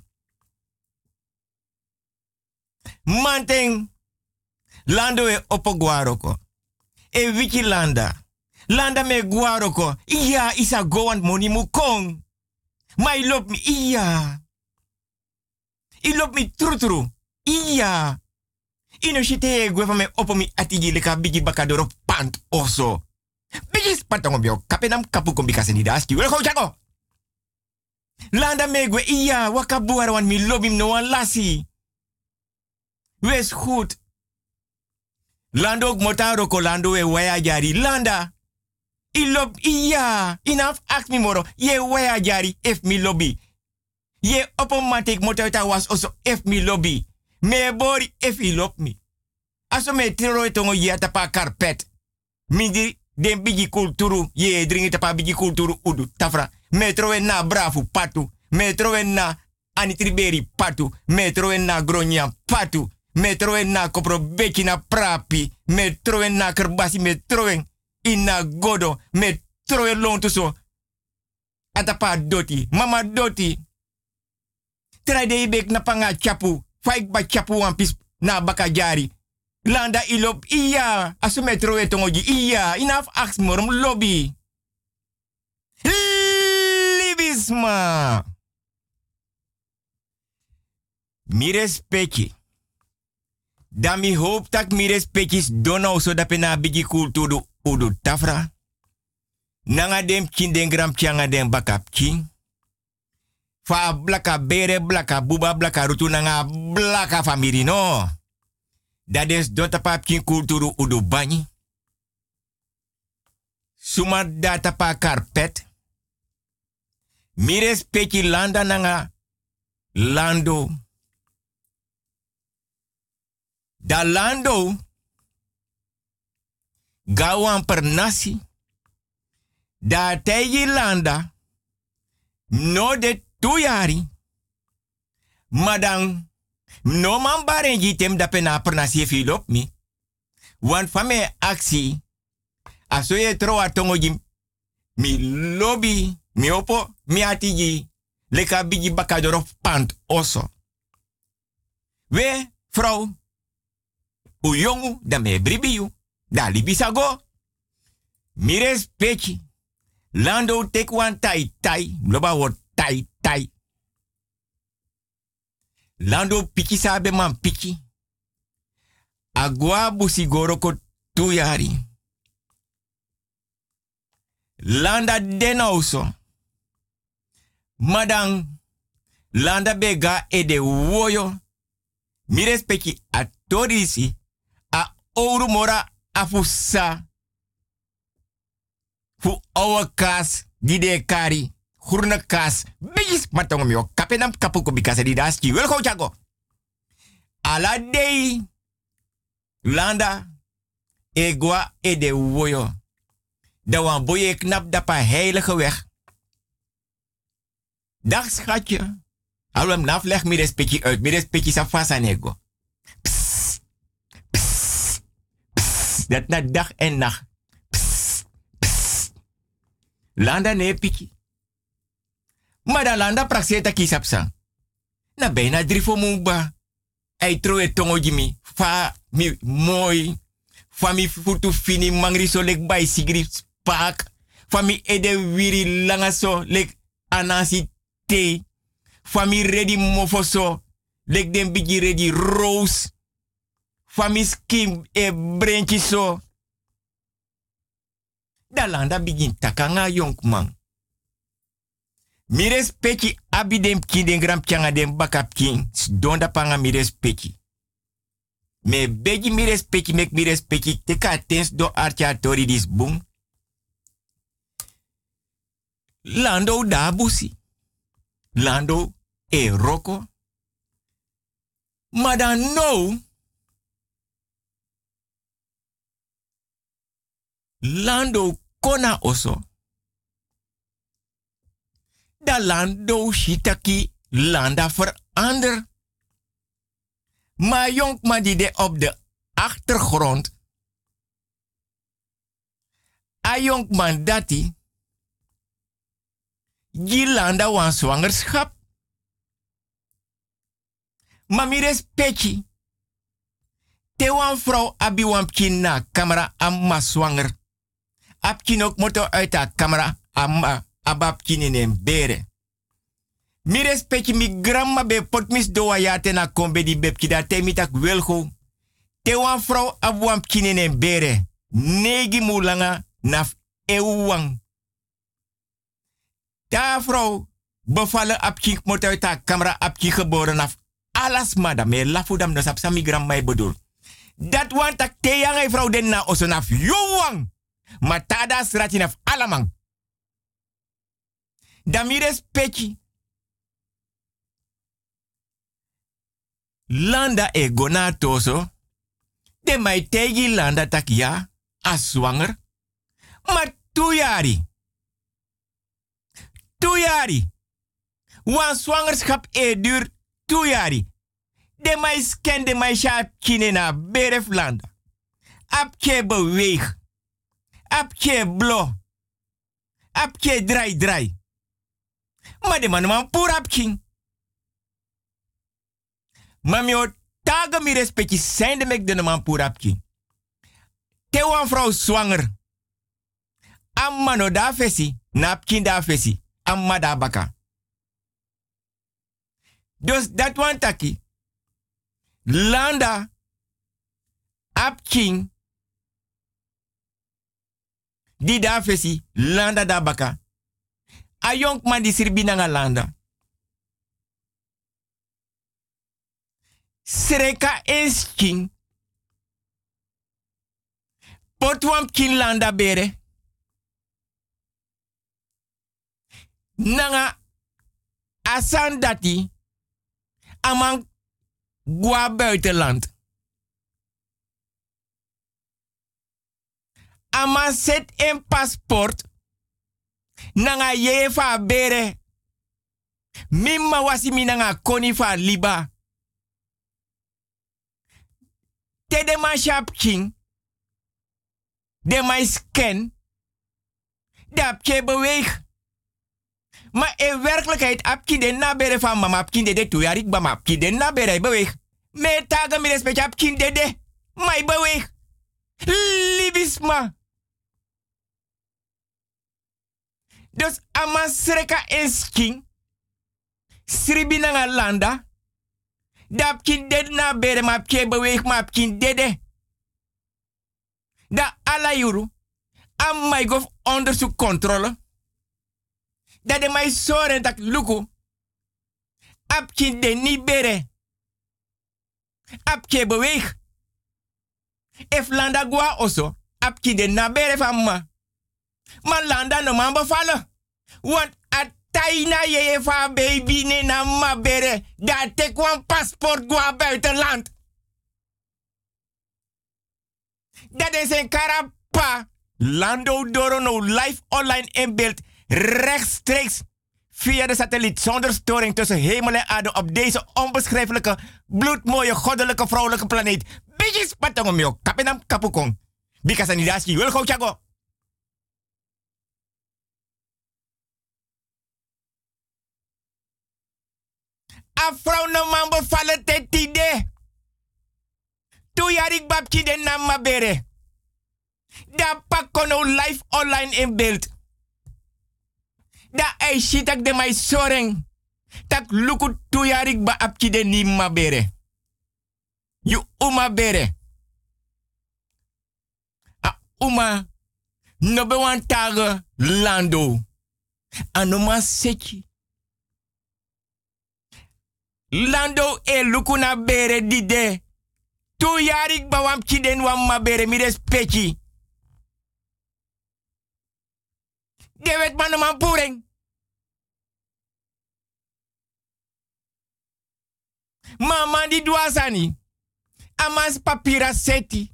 Manteng. Lando e opo guaroko. E wiki landa. Landa me guaroko. Iya isa goan moni mukong. Ma ilop mi iya. Ilop mi trutru. Iya. Ino shite gwe me opo mi atigi leka bigi bakadoro pant oso. Bigi spatongo bio kapenam kapu kombikase ni daski. Wele ko jago. Landa me gwe iya wakabuara wan mi lobim no wan lasi. Wees goed. Lando ook motaro ko lando we waya jari. Landa. Ilop iya. Inaf ask mi moro. Ye waya jari ef mi lobby. Ye opomatik motata was also ef mi lobby. Me bori ef ilop mi. Aso me tiro etongo ye tapa carpet. Midi den bigi kulturu. Ye dringi tapa bigi kulturu udu. Tafra. Me trowe na brafu patu. Me trowe na anitriberi patu. Me trowe na gronya patu. Me trowe na kopro beki na prapi. Me trowe na kerbasi. Me trowe ina godo. Me trowe lontu so. Atapa doti. Mama doti. Try de ibek na panga chapu. Faik ba chapu wampis na bakajari. Landa ilop iya. Asu me trowe tongoji iya. Inaf aks morum lobby. Libisma. Mi respecti. Da mi hoop tak mi respectis dono so da pena bigi kulturu udu tafra. Nanga dem kinden gram changa dem bakap king. Fa blaka bere blaka buba blaka rutu nanga blaka famiri no. Dat is dota pap king kulturu udu bani. Suma data pa carpet. Mi respecti landa nanga lando. Da lando gawan per nasi. Da tegi landa no de tuyari. Madang no man barenji tem da pena per nasi filop mi. Wan fame aksi asoye troa tongoji mi lobby mi opo mi atigi leka bigi bakadoro pant oso. We vrouw u jongu da me bribiu. Da libisago. Mi respecti. Lando take one tai tai. Loba wo tai tai. Lando piki sabe man piki. Agua busigoro ko tuyari. Landa denauso. Madang. Landa bega ede woyo. Mi respecti a torisi. A ouro mora afusa. Fu oude kaas, die de kari, groene kaas, bijis, maar tong mio, kapenam kapuko bikasa die das ki, wel go chago. Ala dei, landa, egwa e de woyo. Da wan boye knap da pa heilige weg. Dag schatje. Alwem naf leg mi respectie uit, mi respectie sa fasa nego. Psst, psst, psst, dat na dag en nacht. Psst, psst. Landa ne piki. Maar da landa prakseta kisapsa. Na bijna 3 voor moeba. Ai troe tongo jimi. Fa mi mooi. Fa mi futu fini mangri so lek bay sigri spak. Fa mi ede wiri langa so lek anasi te. Fa mi ready mofo so lek den bigi ready rose. Fa mi skim e brenchi so. Da landa begin takanga yonkman. Mi respecti abidem kin den gram changa den bakap kin. Donda panga mi respecti. Me begi mi respecti mek mi respecti teka tens do archa tori dis boom. Lando da busi. Lando e roko. Maar dan no. Lando kona oso. Da lando shitaki landa verander. Maar jonkman die de op de achtergrond. A jonkman dati. Die landa wan zwangerschap. Maar mi respecti. Te wan vrouw abi wan pkin na camera amma zwanger. Apkin ook moto uit haar camera amma abapkin in een bere. Mi respecti mi grandma be potmis do wayate na kombe di bepki da te mitak welgo. Te wan vrouw ab wan pkin in een bere. Negi mulanga naf eeuwang. Ta vrouw bevallen apkin moto uit haar camera apkin geboren af. Alas madame, lafudam no sap sami gram mai bedoel. Dat want tak te yang vrouw den na osonaf yuwang. Maar tada sratinaf alamang. Damires pechi. Landa e gona toso. De mai tegi landa tak ja, as zwanger. Maar toejari. Toejari. Wan zwangerschap e duur toejari. De mai scan de mai sharp kine na beref landa. Apke beweeg. Apke blo. Apke draai. Maar de man pur apking. Maar mi o taga mi respecti zijn de mek de man pur apking. Te wan vrouw zwanger. Amma no da fesi. Na apking da fesi. Amma da baka. Dus dat wan taki. Landa. Apking. Di da fesi. Landa da baka. A jonk man di sirbi nga landa. Sreka is king. Potwam king landa bere. Nanga asan dati. Amang gwa buitenland. Ama set een paspoort. Nanga yefa bere. Mimma wasimi nanga koni fa liba. Te de man shop king. De man scan. Dat je beweeg. Maar in werkelijkheid apki de nabere van mama apki de toejarik bama apki de nabere beweeg. Me taga mi respect apki de. Maar beweeg. Libisma. Dus ama sreka is king. Sribi nanga landa. Dat kin dead na bere ma pke beweeg ma kin dede. Da ala yuru. Am my gof onderzoek controle. Dat de mij soren tak luku. Apkin de ni bere. Apke beweeg. If landa gwa oso. Apkin de na bere van ma. Maar landa no man bevallen. Want ataina je van baby ne na mabere. Dat tek wan paspoort gwa buitenland. Dat is een karapa. Lando Dorono live online in beeld. Rechtstreeks via de satelliet zonder storing tussen hemel en aarde op deze onbeschrijfelijke, bloedmooie, goddelijke, vrouwelijke planeet. Bijis patongomio, kapenam kapukong. Bika sanidaski, wil go chago. A vrouw no man bevallen te tide. Tu jarik babki den nam mabere. Da pakono live online in beeld. Da ai shitak de mai soreng. Tak luku tu jarik ba apki den ni mabere. You uma bere. A uma no be wan tage lando. Anoma seki. Lando e luku na bere dide. Tu yarik ba wam kiden wam mabere mi respecti. De wet man man pureng. Mama di duasani. Amas papira seti.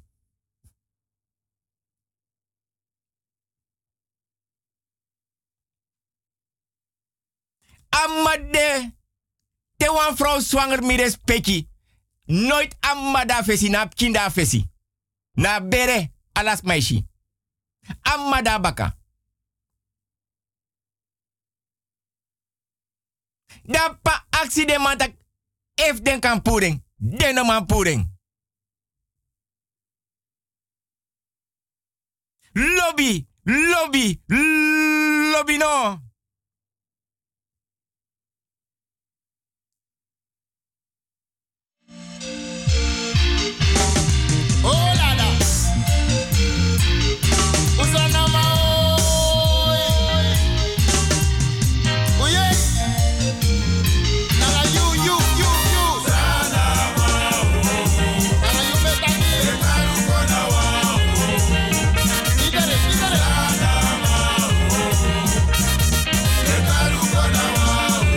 Amade. Te wan vrouw zwanger mi respecti. Nooit amada fesi na kinda fesi. Na bere alas maishi. Amada baka. Da pa accident mantak if den kan puring. Den no man puring. Lobby, lobby, lobby no.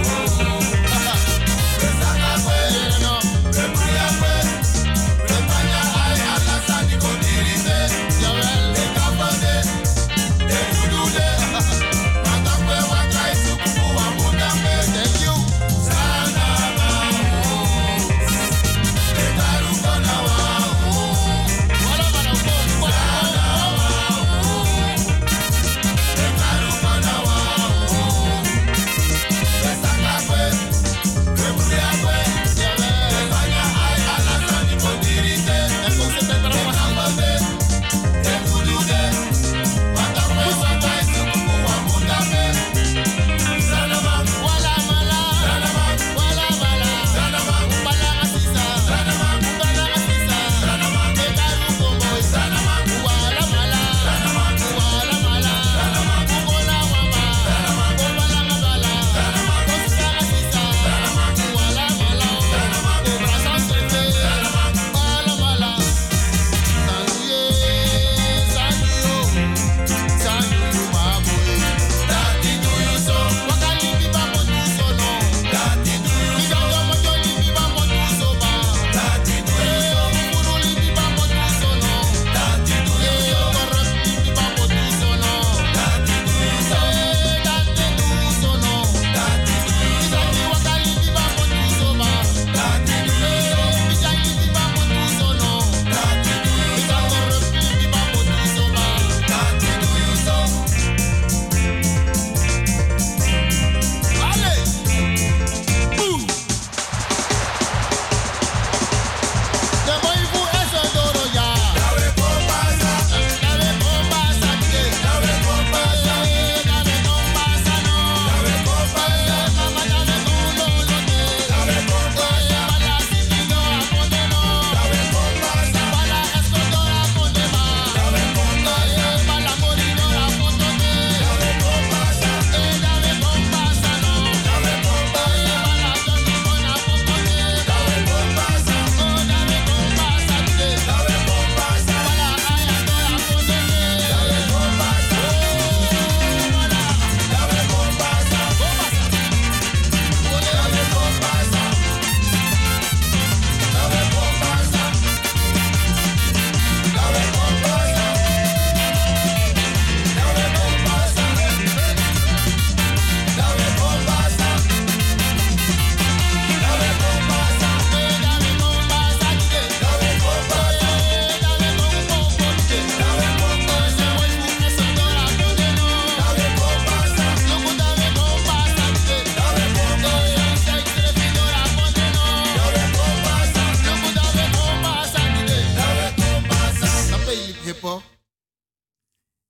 España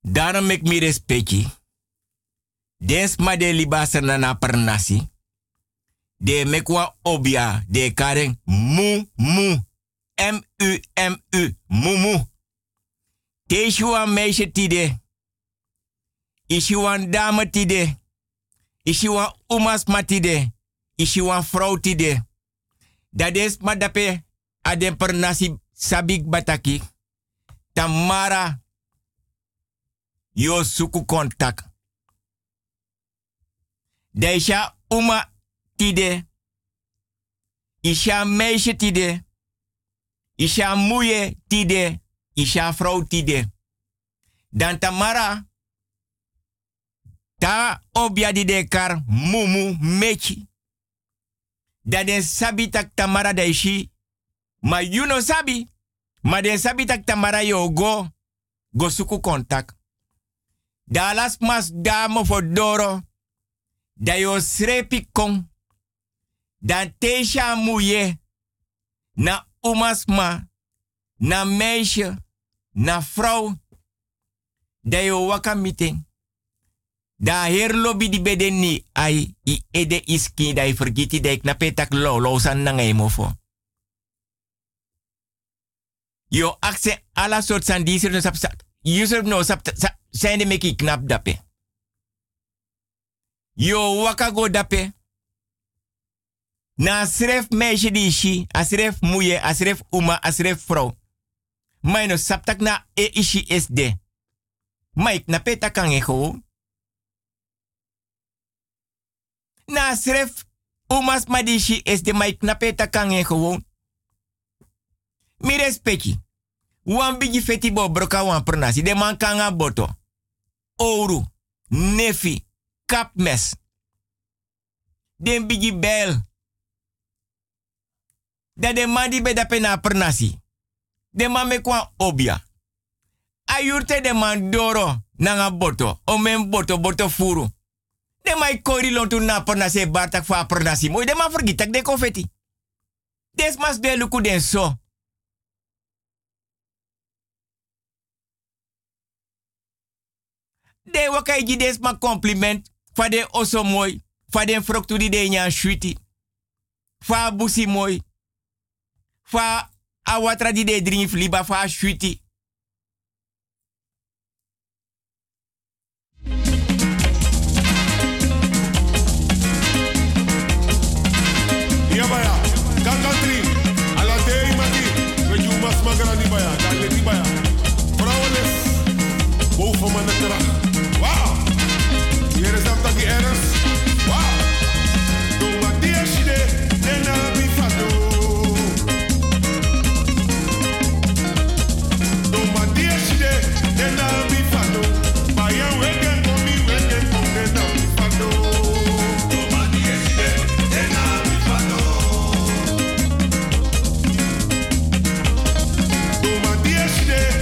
Daarom ik mi respecti. Dens ma de libasa na pernasi. De mekwa obia de karen mu. M-U-M-U. Mumu. Teeshuwa meisje tide. Ishuwan dame tide. Ishuwan umas matide. Ishuwan vrouw tide. Dat is ma dape adem pernasi sabik bataki. Tamara. Yo suku kontak. Daisha uma tide. Isha meisje tide. Isha moeie tide. Isha vrouw tide. Dan Tamara. Ta obia di dekar mumu mechi. Dat den sabi tak Tamara daishi. Ma you no sabi. Ma den sabi tak Tamara yo go suku kontak. Dalas mas damo for doro. Da yo srepi kong. Dan teisha muye. Na umasma. Na meisje. Na vrouw. Da yo waka meeting. Da her lobby di bedeni ai I ede iski da I vergiti da ik na petak lo san na ngay mo fo. Yo akse ala soort san diser no sap user no sap zijn de meki knap dape. Yo waka go dape. Na sref meisje di ishi, asref muye, asref uma, asref vrouw. Maar no saptak na ishi SD. Maar ik na petak kan je gewoon. Na sref umas madishi is de maik na peta kangen gewoon. Mi respecti. Wan bigi feti bo broka wan pernasi. De man kanga boto. Ouro. Nefi. Kapmes. Den bigi bel. Da de man di beda pena pernasi. De man me kwa obia. Ayurte de man doro. Nanga boto. Omen boto furu. De mai kori lontu na pernasi bartak fa pernasi. Mooi de man vergitak de confetti. Des mas de luku den so. De wakai ji des ma compliment. Fa de oso mooi. Fa den froktu di de nyan shuiti. Fa busi mooi. Fa awatra di de drinf liba fa shuiti. Baya, Gangantri, Alate Imati, Reju Mas Magrani Baya, Galeti Baya, Vrouwens, boven mijn netra. Wauw, hier is dat die ergens. Wauw, doe wat die is je, nena bifado. Doe wat die is je, nena bifado. Baya wegen komi wegen kom nena bifado. Doe wat die is je, nena bifado. Yeah.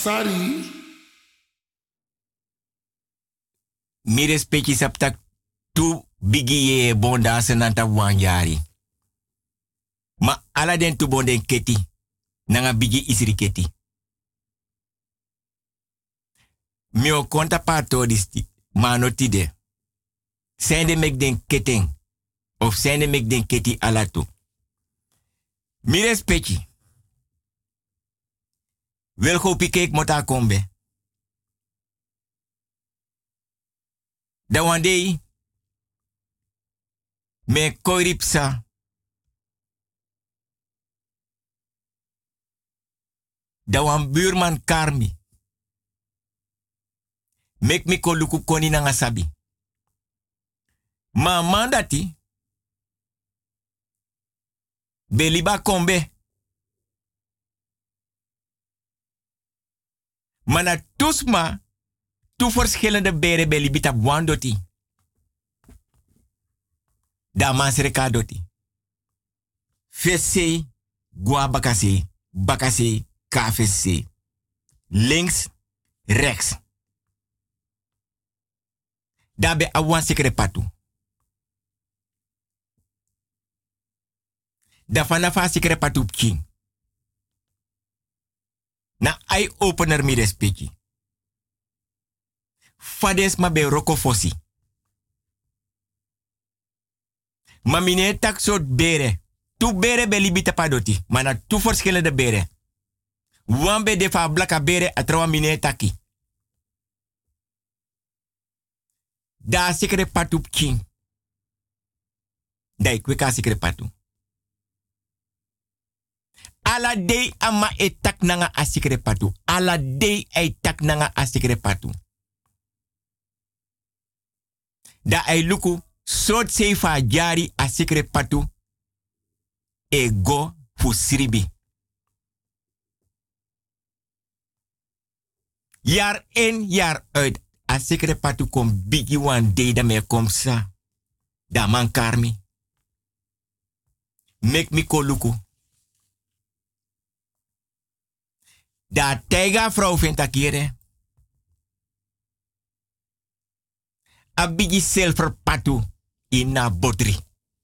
Sari. Mi respecti saptak tu bigi ye bonda senanta wanjari. Ma ala den tu bonden keti. Nanga bigi isiri keti. Mio konta pato disti. Manotide. Sende mek den keteng. Of sende mek den keti alatu. Mi respecti. Wel go pikek mota kombe. Da wandei. Me koiripsa. Da wan buurman karmi. Mek mi koluku koni na ngasabi. Ma mandati. Beliba kombe. Mana tusma. Tu verschillende beren belibita buandoti. Da mansreka doti. Fesse. Gua bakase. Bakase. KFC. Links. Rechts. Dabe awan sekere patu. Da fanafa sekere patu king. Na eye opener mi respecti. Fades ma be roko fosi. Ma mine tak soort bere. Tu bere be libita padoti. Mana tu verschillende bere. Wambe de fa blaka bere atrawa mine taki. Da sekere patu king. Da ikweka sekere patu. Ala dei ama etak nanga asikere patu. Ala dei etak nanga asikere patu. Da ai luku sot seifa jari asikere patu. Ego fusribi. Jaar in, jaar uit. Asikere patu kom bigi wan day da me kom sa. Da man karmi. Mek mi ko luku. Da tega vrouw vindt akire. A bigi silver patu in botri.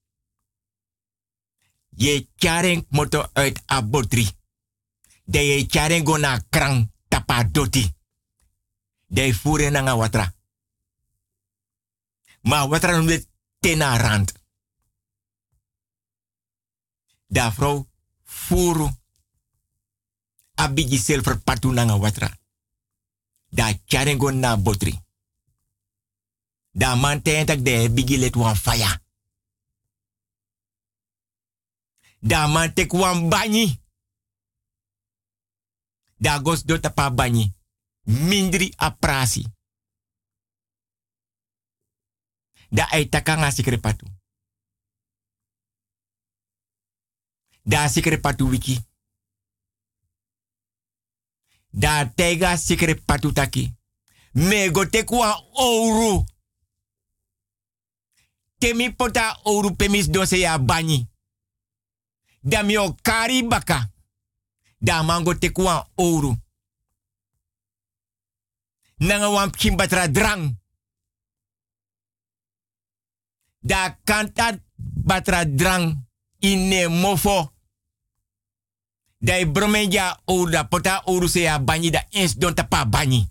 Je chareng moto uit a botri. De je chareng go na krang tapa doti. De fure nanga watra. Ma watra numde tena rand. Da vrouw furu. A bigi silver patu nanga watra. Da charengo na botri. Da man tentak de bigi let wan fire. Da man tek wan banyi. Da gos do tapa banyi. Mindri a prasi. Da ay takanga sikre patu. Da sikre patu wiki. Da tega sikre patu taki. Me go tekwa ouro. Temi pota ouro pemis donse ya bani. Da mi o kari baka. Da mango tekwa ouro. Nanga wan kimbatra drang. Da kanta batra drang ine mofo. Da bromenja ou da pota ouro se ya bani da ens don tapa bani.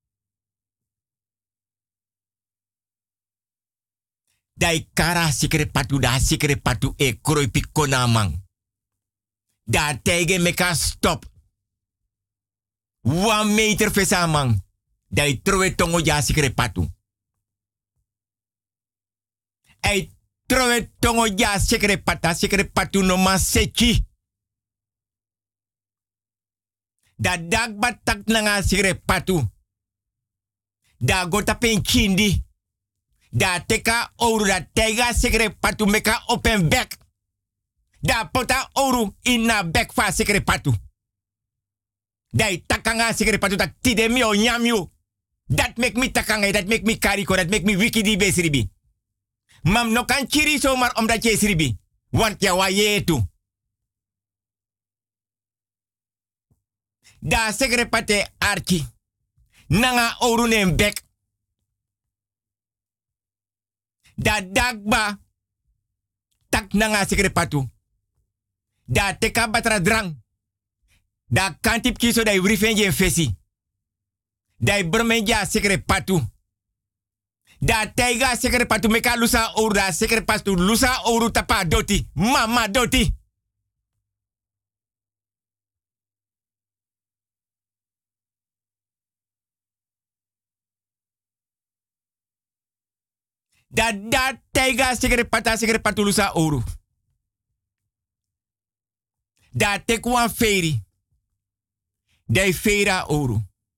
Da kara sikre patu da sikre patu e kroi pikona man. Da tege meka stop. 1 meter fesa man. Da trowe tongo ja sikre patu. Ei trowe tongo ja sikre patu no man sechi. Da dag batak nanga sikre patu. Da gota pen kindi. Da teka ouro da tega sikre patu meka open bek. Da pota ouro ina bek fa sikre patu. Da takanga sikre patu tak tide mi o nyamyo. Dat make me takanga, dat make me kariko, dat make me wiki di besribi. Mam no kan chiri zomaar omdat je sribi. Want ja wa je tu. Da sekrepate arki. Nanga oru nem bek. Da dagba. Tak nanga sekrepatu. Da teka batra drang. Da kantip kiso da wrifenje fesi. Da brmenja sekrepatu. Da teiga sekrepatu meka lusa oru da sekrepatu lusa oru tapa doti. Mama doti. Da teiga sekrepatu lusa oru. Da tekwan feri. Da feira oru.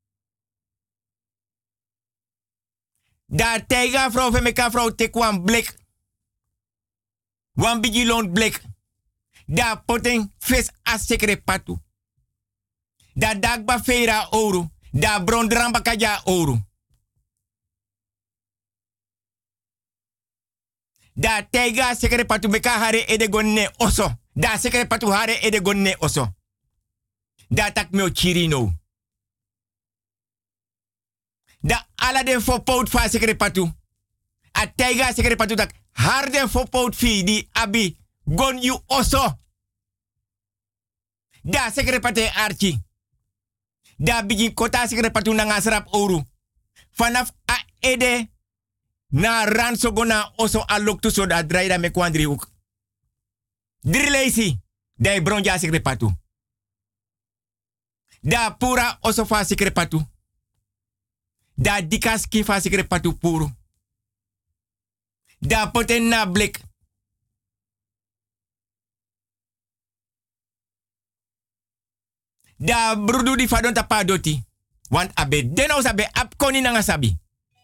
Da teiga vrouw femeka vrouw tekwan blik. Wan bigi lont blik. Da poten fes a sekrepatu. Da dagba feira oru. Da brondramba kaja oru. Da teiga sekrepatu meka hare edegonne oso. Da sekrepatu hare edegonne oso. Da tak meo chirino. Da ala den fo pout fa sekrepatu. A teiga sekrepatu tak harden fo pout fi di abi gon you oso. Da sekrepate archi. Da bigi kota sekrepatu na ngasrap oru. Vanaf a ede na ranso gona oso aloktu so da draida me kwandri hoek. Drilesi. Da bronja sekrepatu. Da pura oso fa sekrepatu. Da dikaski fa sekrepatu puru. Da poten na blik. Da brudu di fadon tapa doti. Want abe deno sabe ap koni nanga sabi.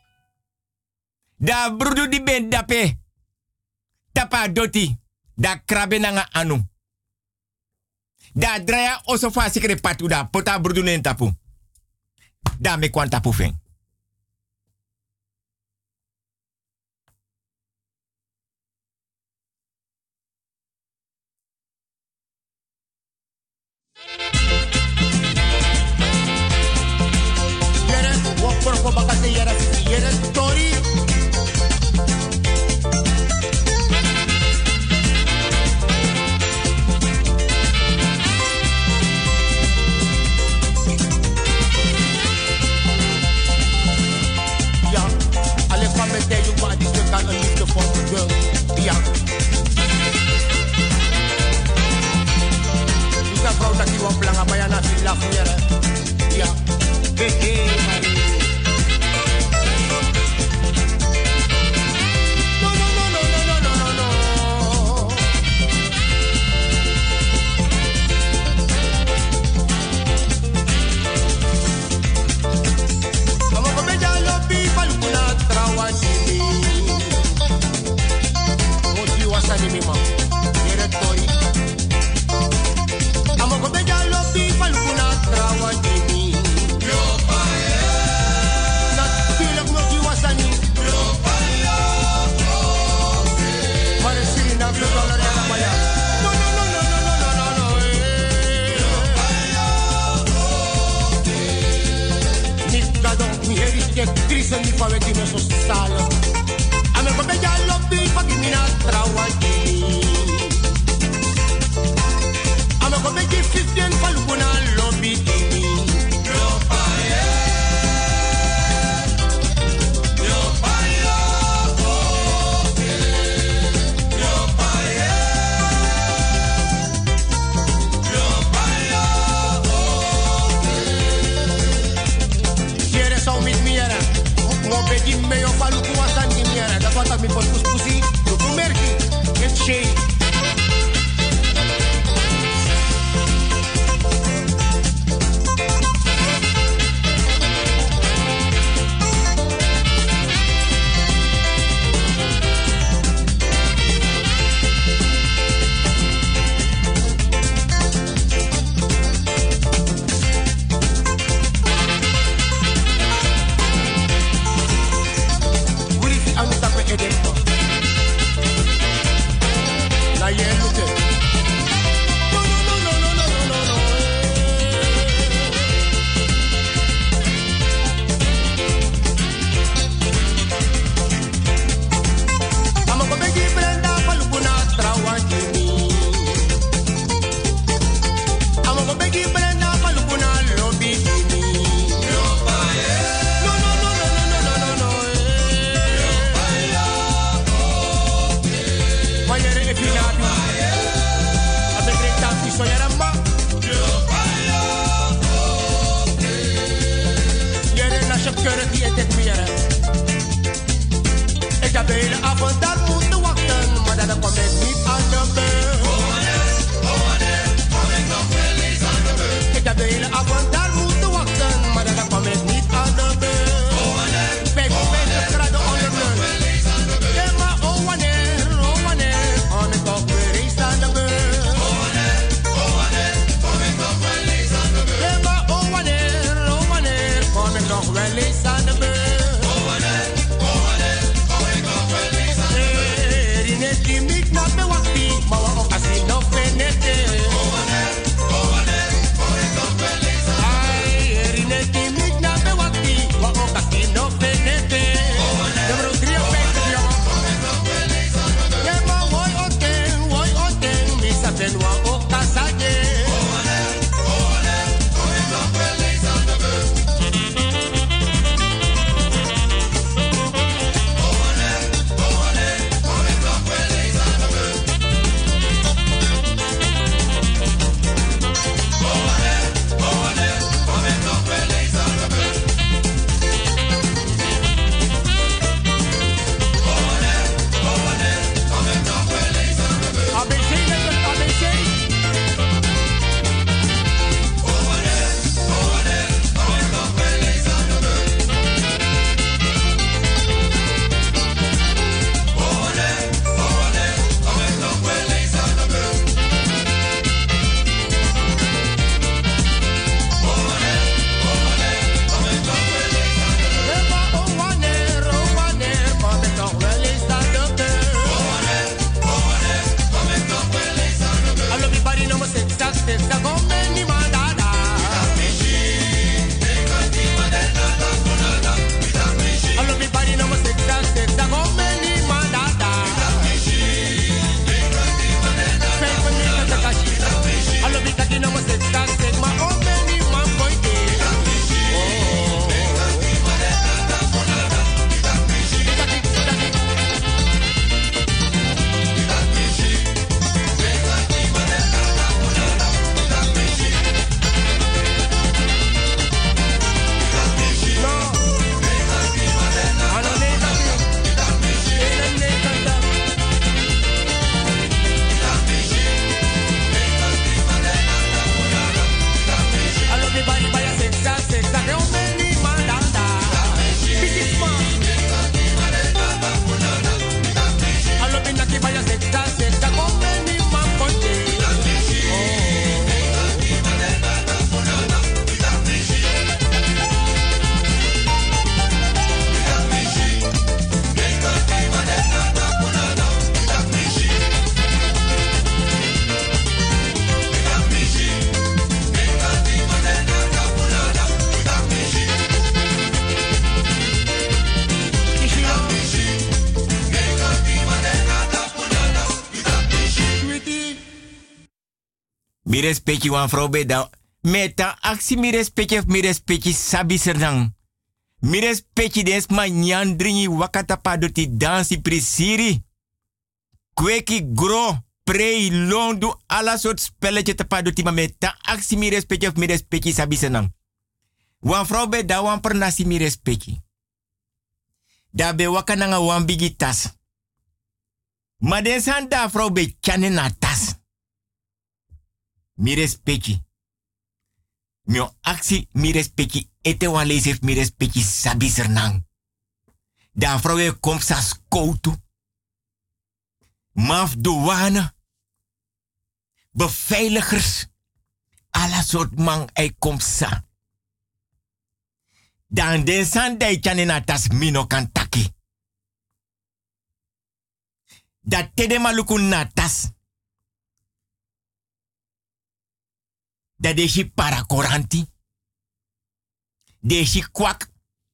Da brudu di ben dape. Tapa doti. Da krabe nanga anu. Da draya oso fa sekrepatu da pota brudu nen tapu. Da me kwan tapu fen. Por bakate yara yara story. Ja, alle van met deze maar die stuk aan een liefde voor de girl. Ja. Dus dat vrouw dat die wat belangrijk bij aan het lachen yara. Ja. Hey, Marie. Triste mi fa vedi me so stalo. A me come già lo bi fa che mi na trawati. A me come gi 15 fa luna lo bi di. Yo paye. Yo paye. Yo paye. Yo paye. Quieres au mit miera. Mo begi me yo falu ku asan ni miera. Da fata mi pot puspusi. Tu ku merki. Get shade. Edempo. avond daar moeten wachten, maar dan kom ik niet aan de beurt. Kom ik nog wel eens aan de beurt. Ik heb de hele avond daar moeten wachten, maar dan kom ik niet aan de beurt. 55 graden onder de ja, maar wanneer kom ik nog weer eens aan de beurt. Kom ik nog wel eens aan de beurt. Ja, maar wanneer kom ik nog wel eens aan de beurt. Mi respecti wan vrouw beda. Meta actie mi respecti sabi serdang. Mi respecti des manyan dringi wakata padoti dansi prisiri. Kweki gro, prei, londu, alla soort spelletje te padoti. Maar meta actie mi respecti sabi serdang. Wan vrouw beda wan per nasi mi respecti. Dabe wakananga wan bigi tas. Maar den san da vrouw be chane na tas. Mi respecti. Mio actie mi respecti. Ete wan lees mi respecti sabi sernang. Da vrouwe komt sa skoutu. Maf douane. Beveiligers. Alla soort man ei komt sa. Dan den san dai chane na tas mino kan taki. Da tede maluku na tas. Da deshi parakoranti. Deshi kwak.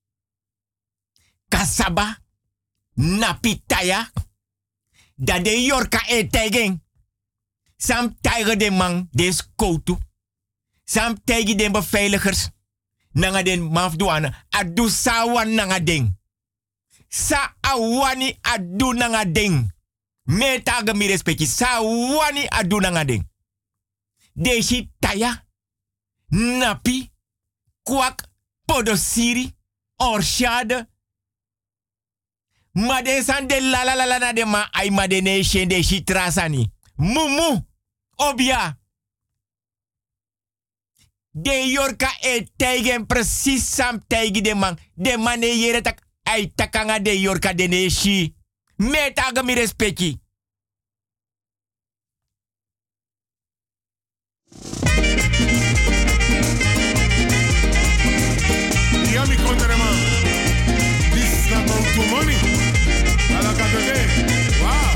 Kasaba. Napitaya. Da de yorka tegen. Sam tijger de man des koutu. Sam tijger de beveiligers. Nanga den mafdouane. Adu sawan nanga ding. Sa awani adu nanga ding. Metaga mi respecti. Sa wani adu nanga ding. Deshi taya. Napi. Kwak. Podosiri. Orshade. Ma den san de la la la la na de ma ay ma de ne shen de shitrasani. Mumu. Obia. De yorka e teigen precies sam teigi de man. De man e yere tak ay takanga de yorka de ne shi. Metaga mi respecti. Ja, mi kontere man. This is not about to money. Ala katege. Wow.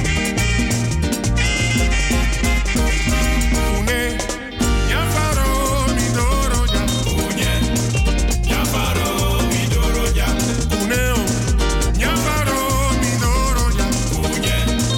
Une, ya faro mi doro ya. Une, ya faro mi doro ya. Une, ya faro mi doro ya. Une,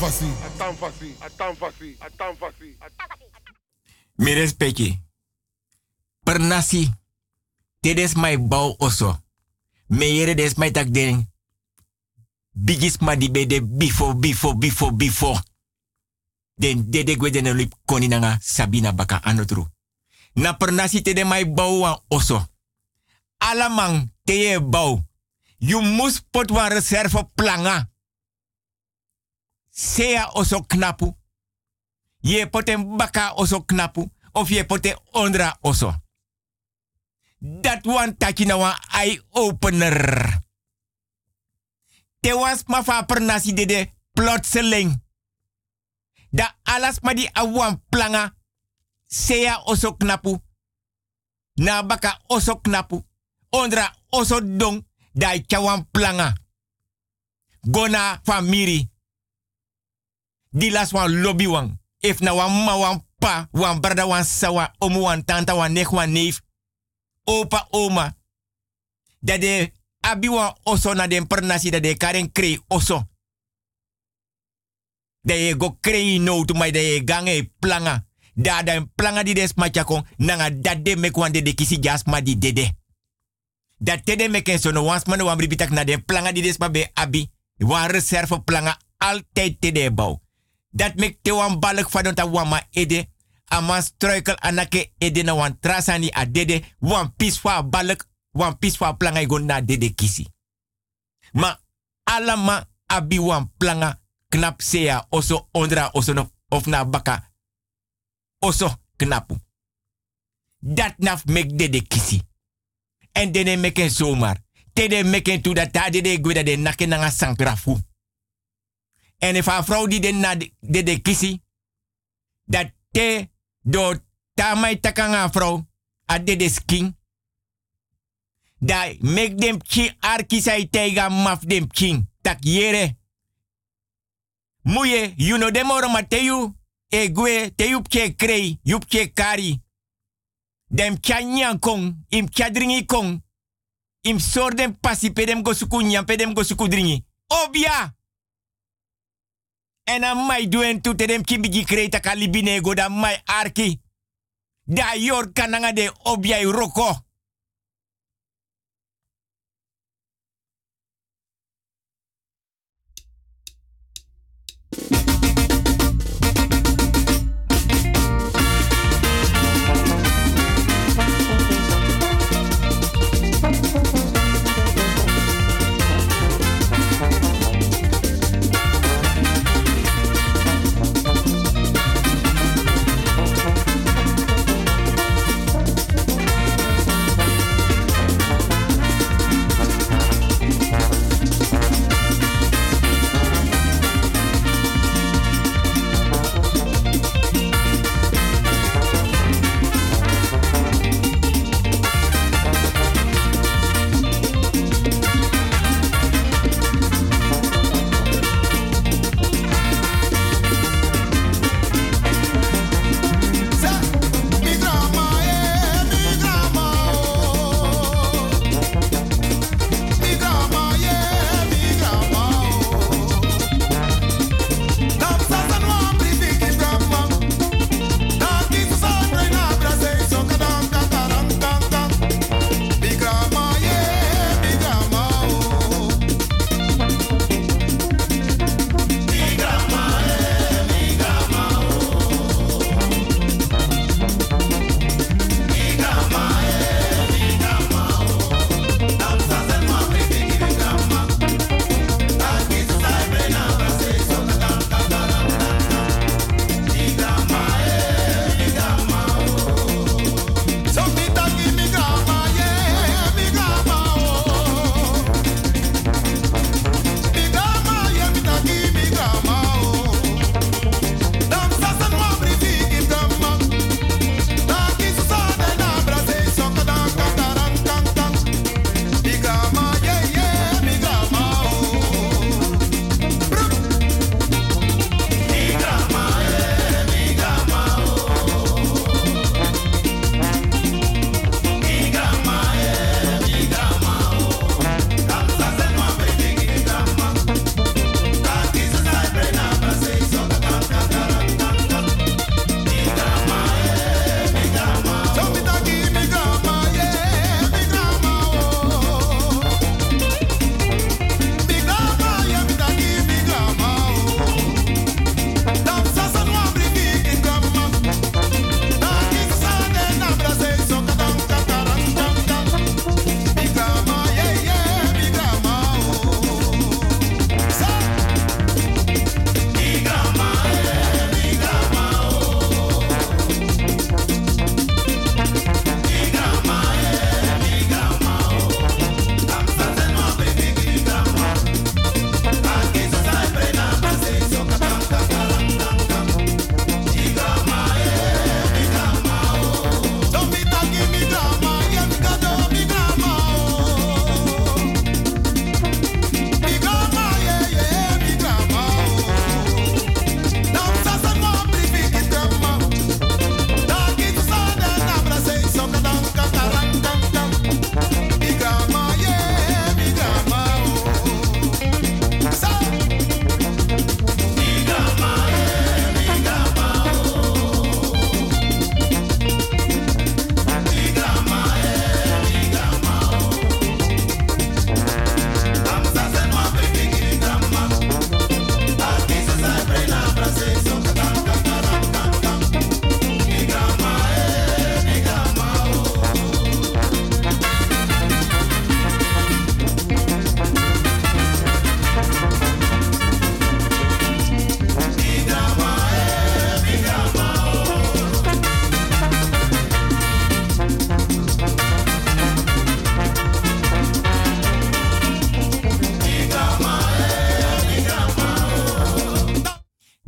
Atanfasi. Mi respecti. Per nasi. Tedes mai bau oso. Me yere des mai tak den. Bigis ma di bede before. Den dede gwe den lip koninanga Sabina baka anotru. Na per nasi tede mai bau wan oso. Alamang teye bau. You must pot wan reserve planga. Sea oso knapu. Je poten baka oso knapu. Of je poten ondra oso. Dat wan taki na wan eye-opener. Te was ma fa per nasi dede plotseling. Da alas ma di awan planga. Sea oso knapu. Na baka oso knapu. Ondra oso dong. Da chawan planga. Gona famiri. Di las wan lobby wan. If na wan ma wan pa, wan brada wan sawa, omu wan tanta wan nek wan neef. Opa oma. Dat de abi wan oso na den per nasi dat de karen krei oso. Dat je go krei no to mai dat je gange planga. Da den planga di des machakon nanga dat de mek wan de kisi jasma di dede. Dat tede meken so no wans man wan bribitak na den planga di des ma be abi. Wan reserve planga altijd tede bouw. Dat mek te wan balk van ta wama ede. Aman struikel anake ede na wan trasani a dede. Wan piswa balk, wan piswa planga igon na dede kisi. Ma alama abi wan planga knap sea oso ondra oso no, of na baka. Oso knapu. Dat naf mek dede kisi. En dene meken zomaar. Tede meken tu dat ta dede gweda de nake nanga sankrafu. En if a vrouw die den na de kisi, dat te do tamai takanga vrouw, a de skin, dat make them chi arkisai teiga maf dem king, tak yere. Muye, you know dem oro mateyu, e gwe, te yup che krei, yup che kari. Dem chanyan kong, im chadringi kong, im sor dem pasi pedem go suku nyam, pedem go suku dringi. Obia! En aan mij doen toe te dem kimbigi kreta kalibine go da mij arki. Da yor kananga de objai roko.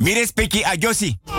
Mi respecti a Josi.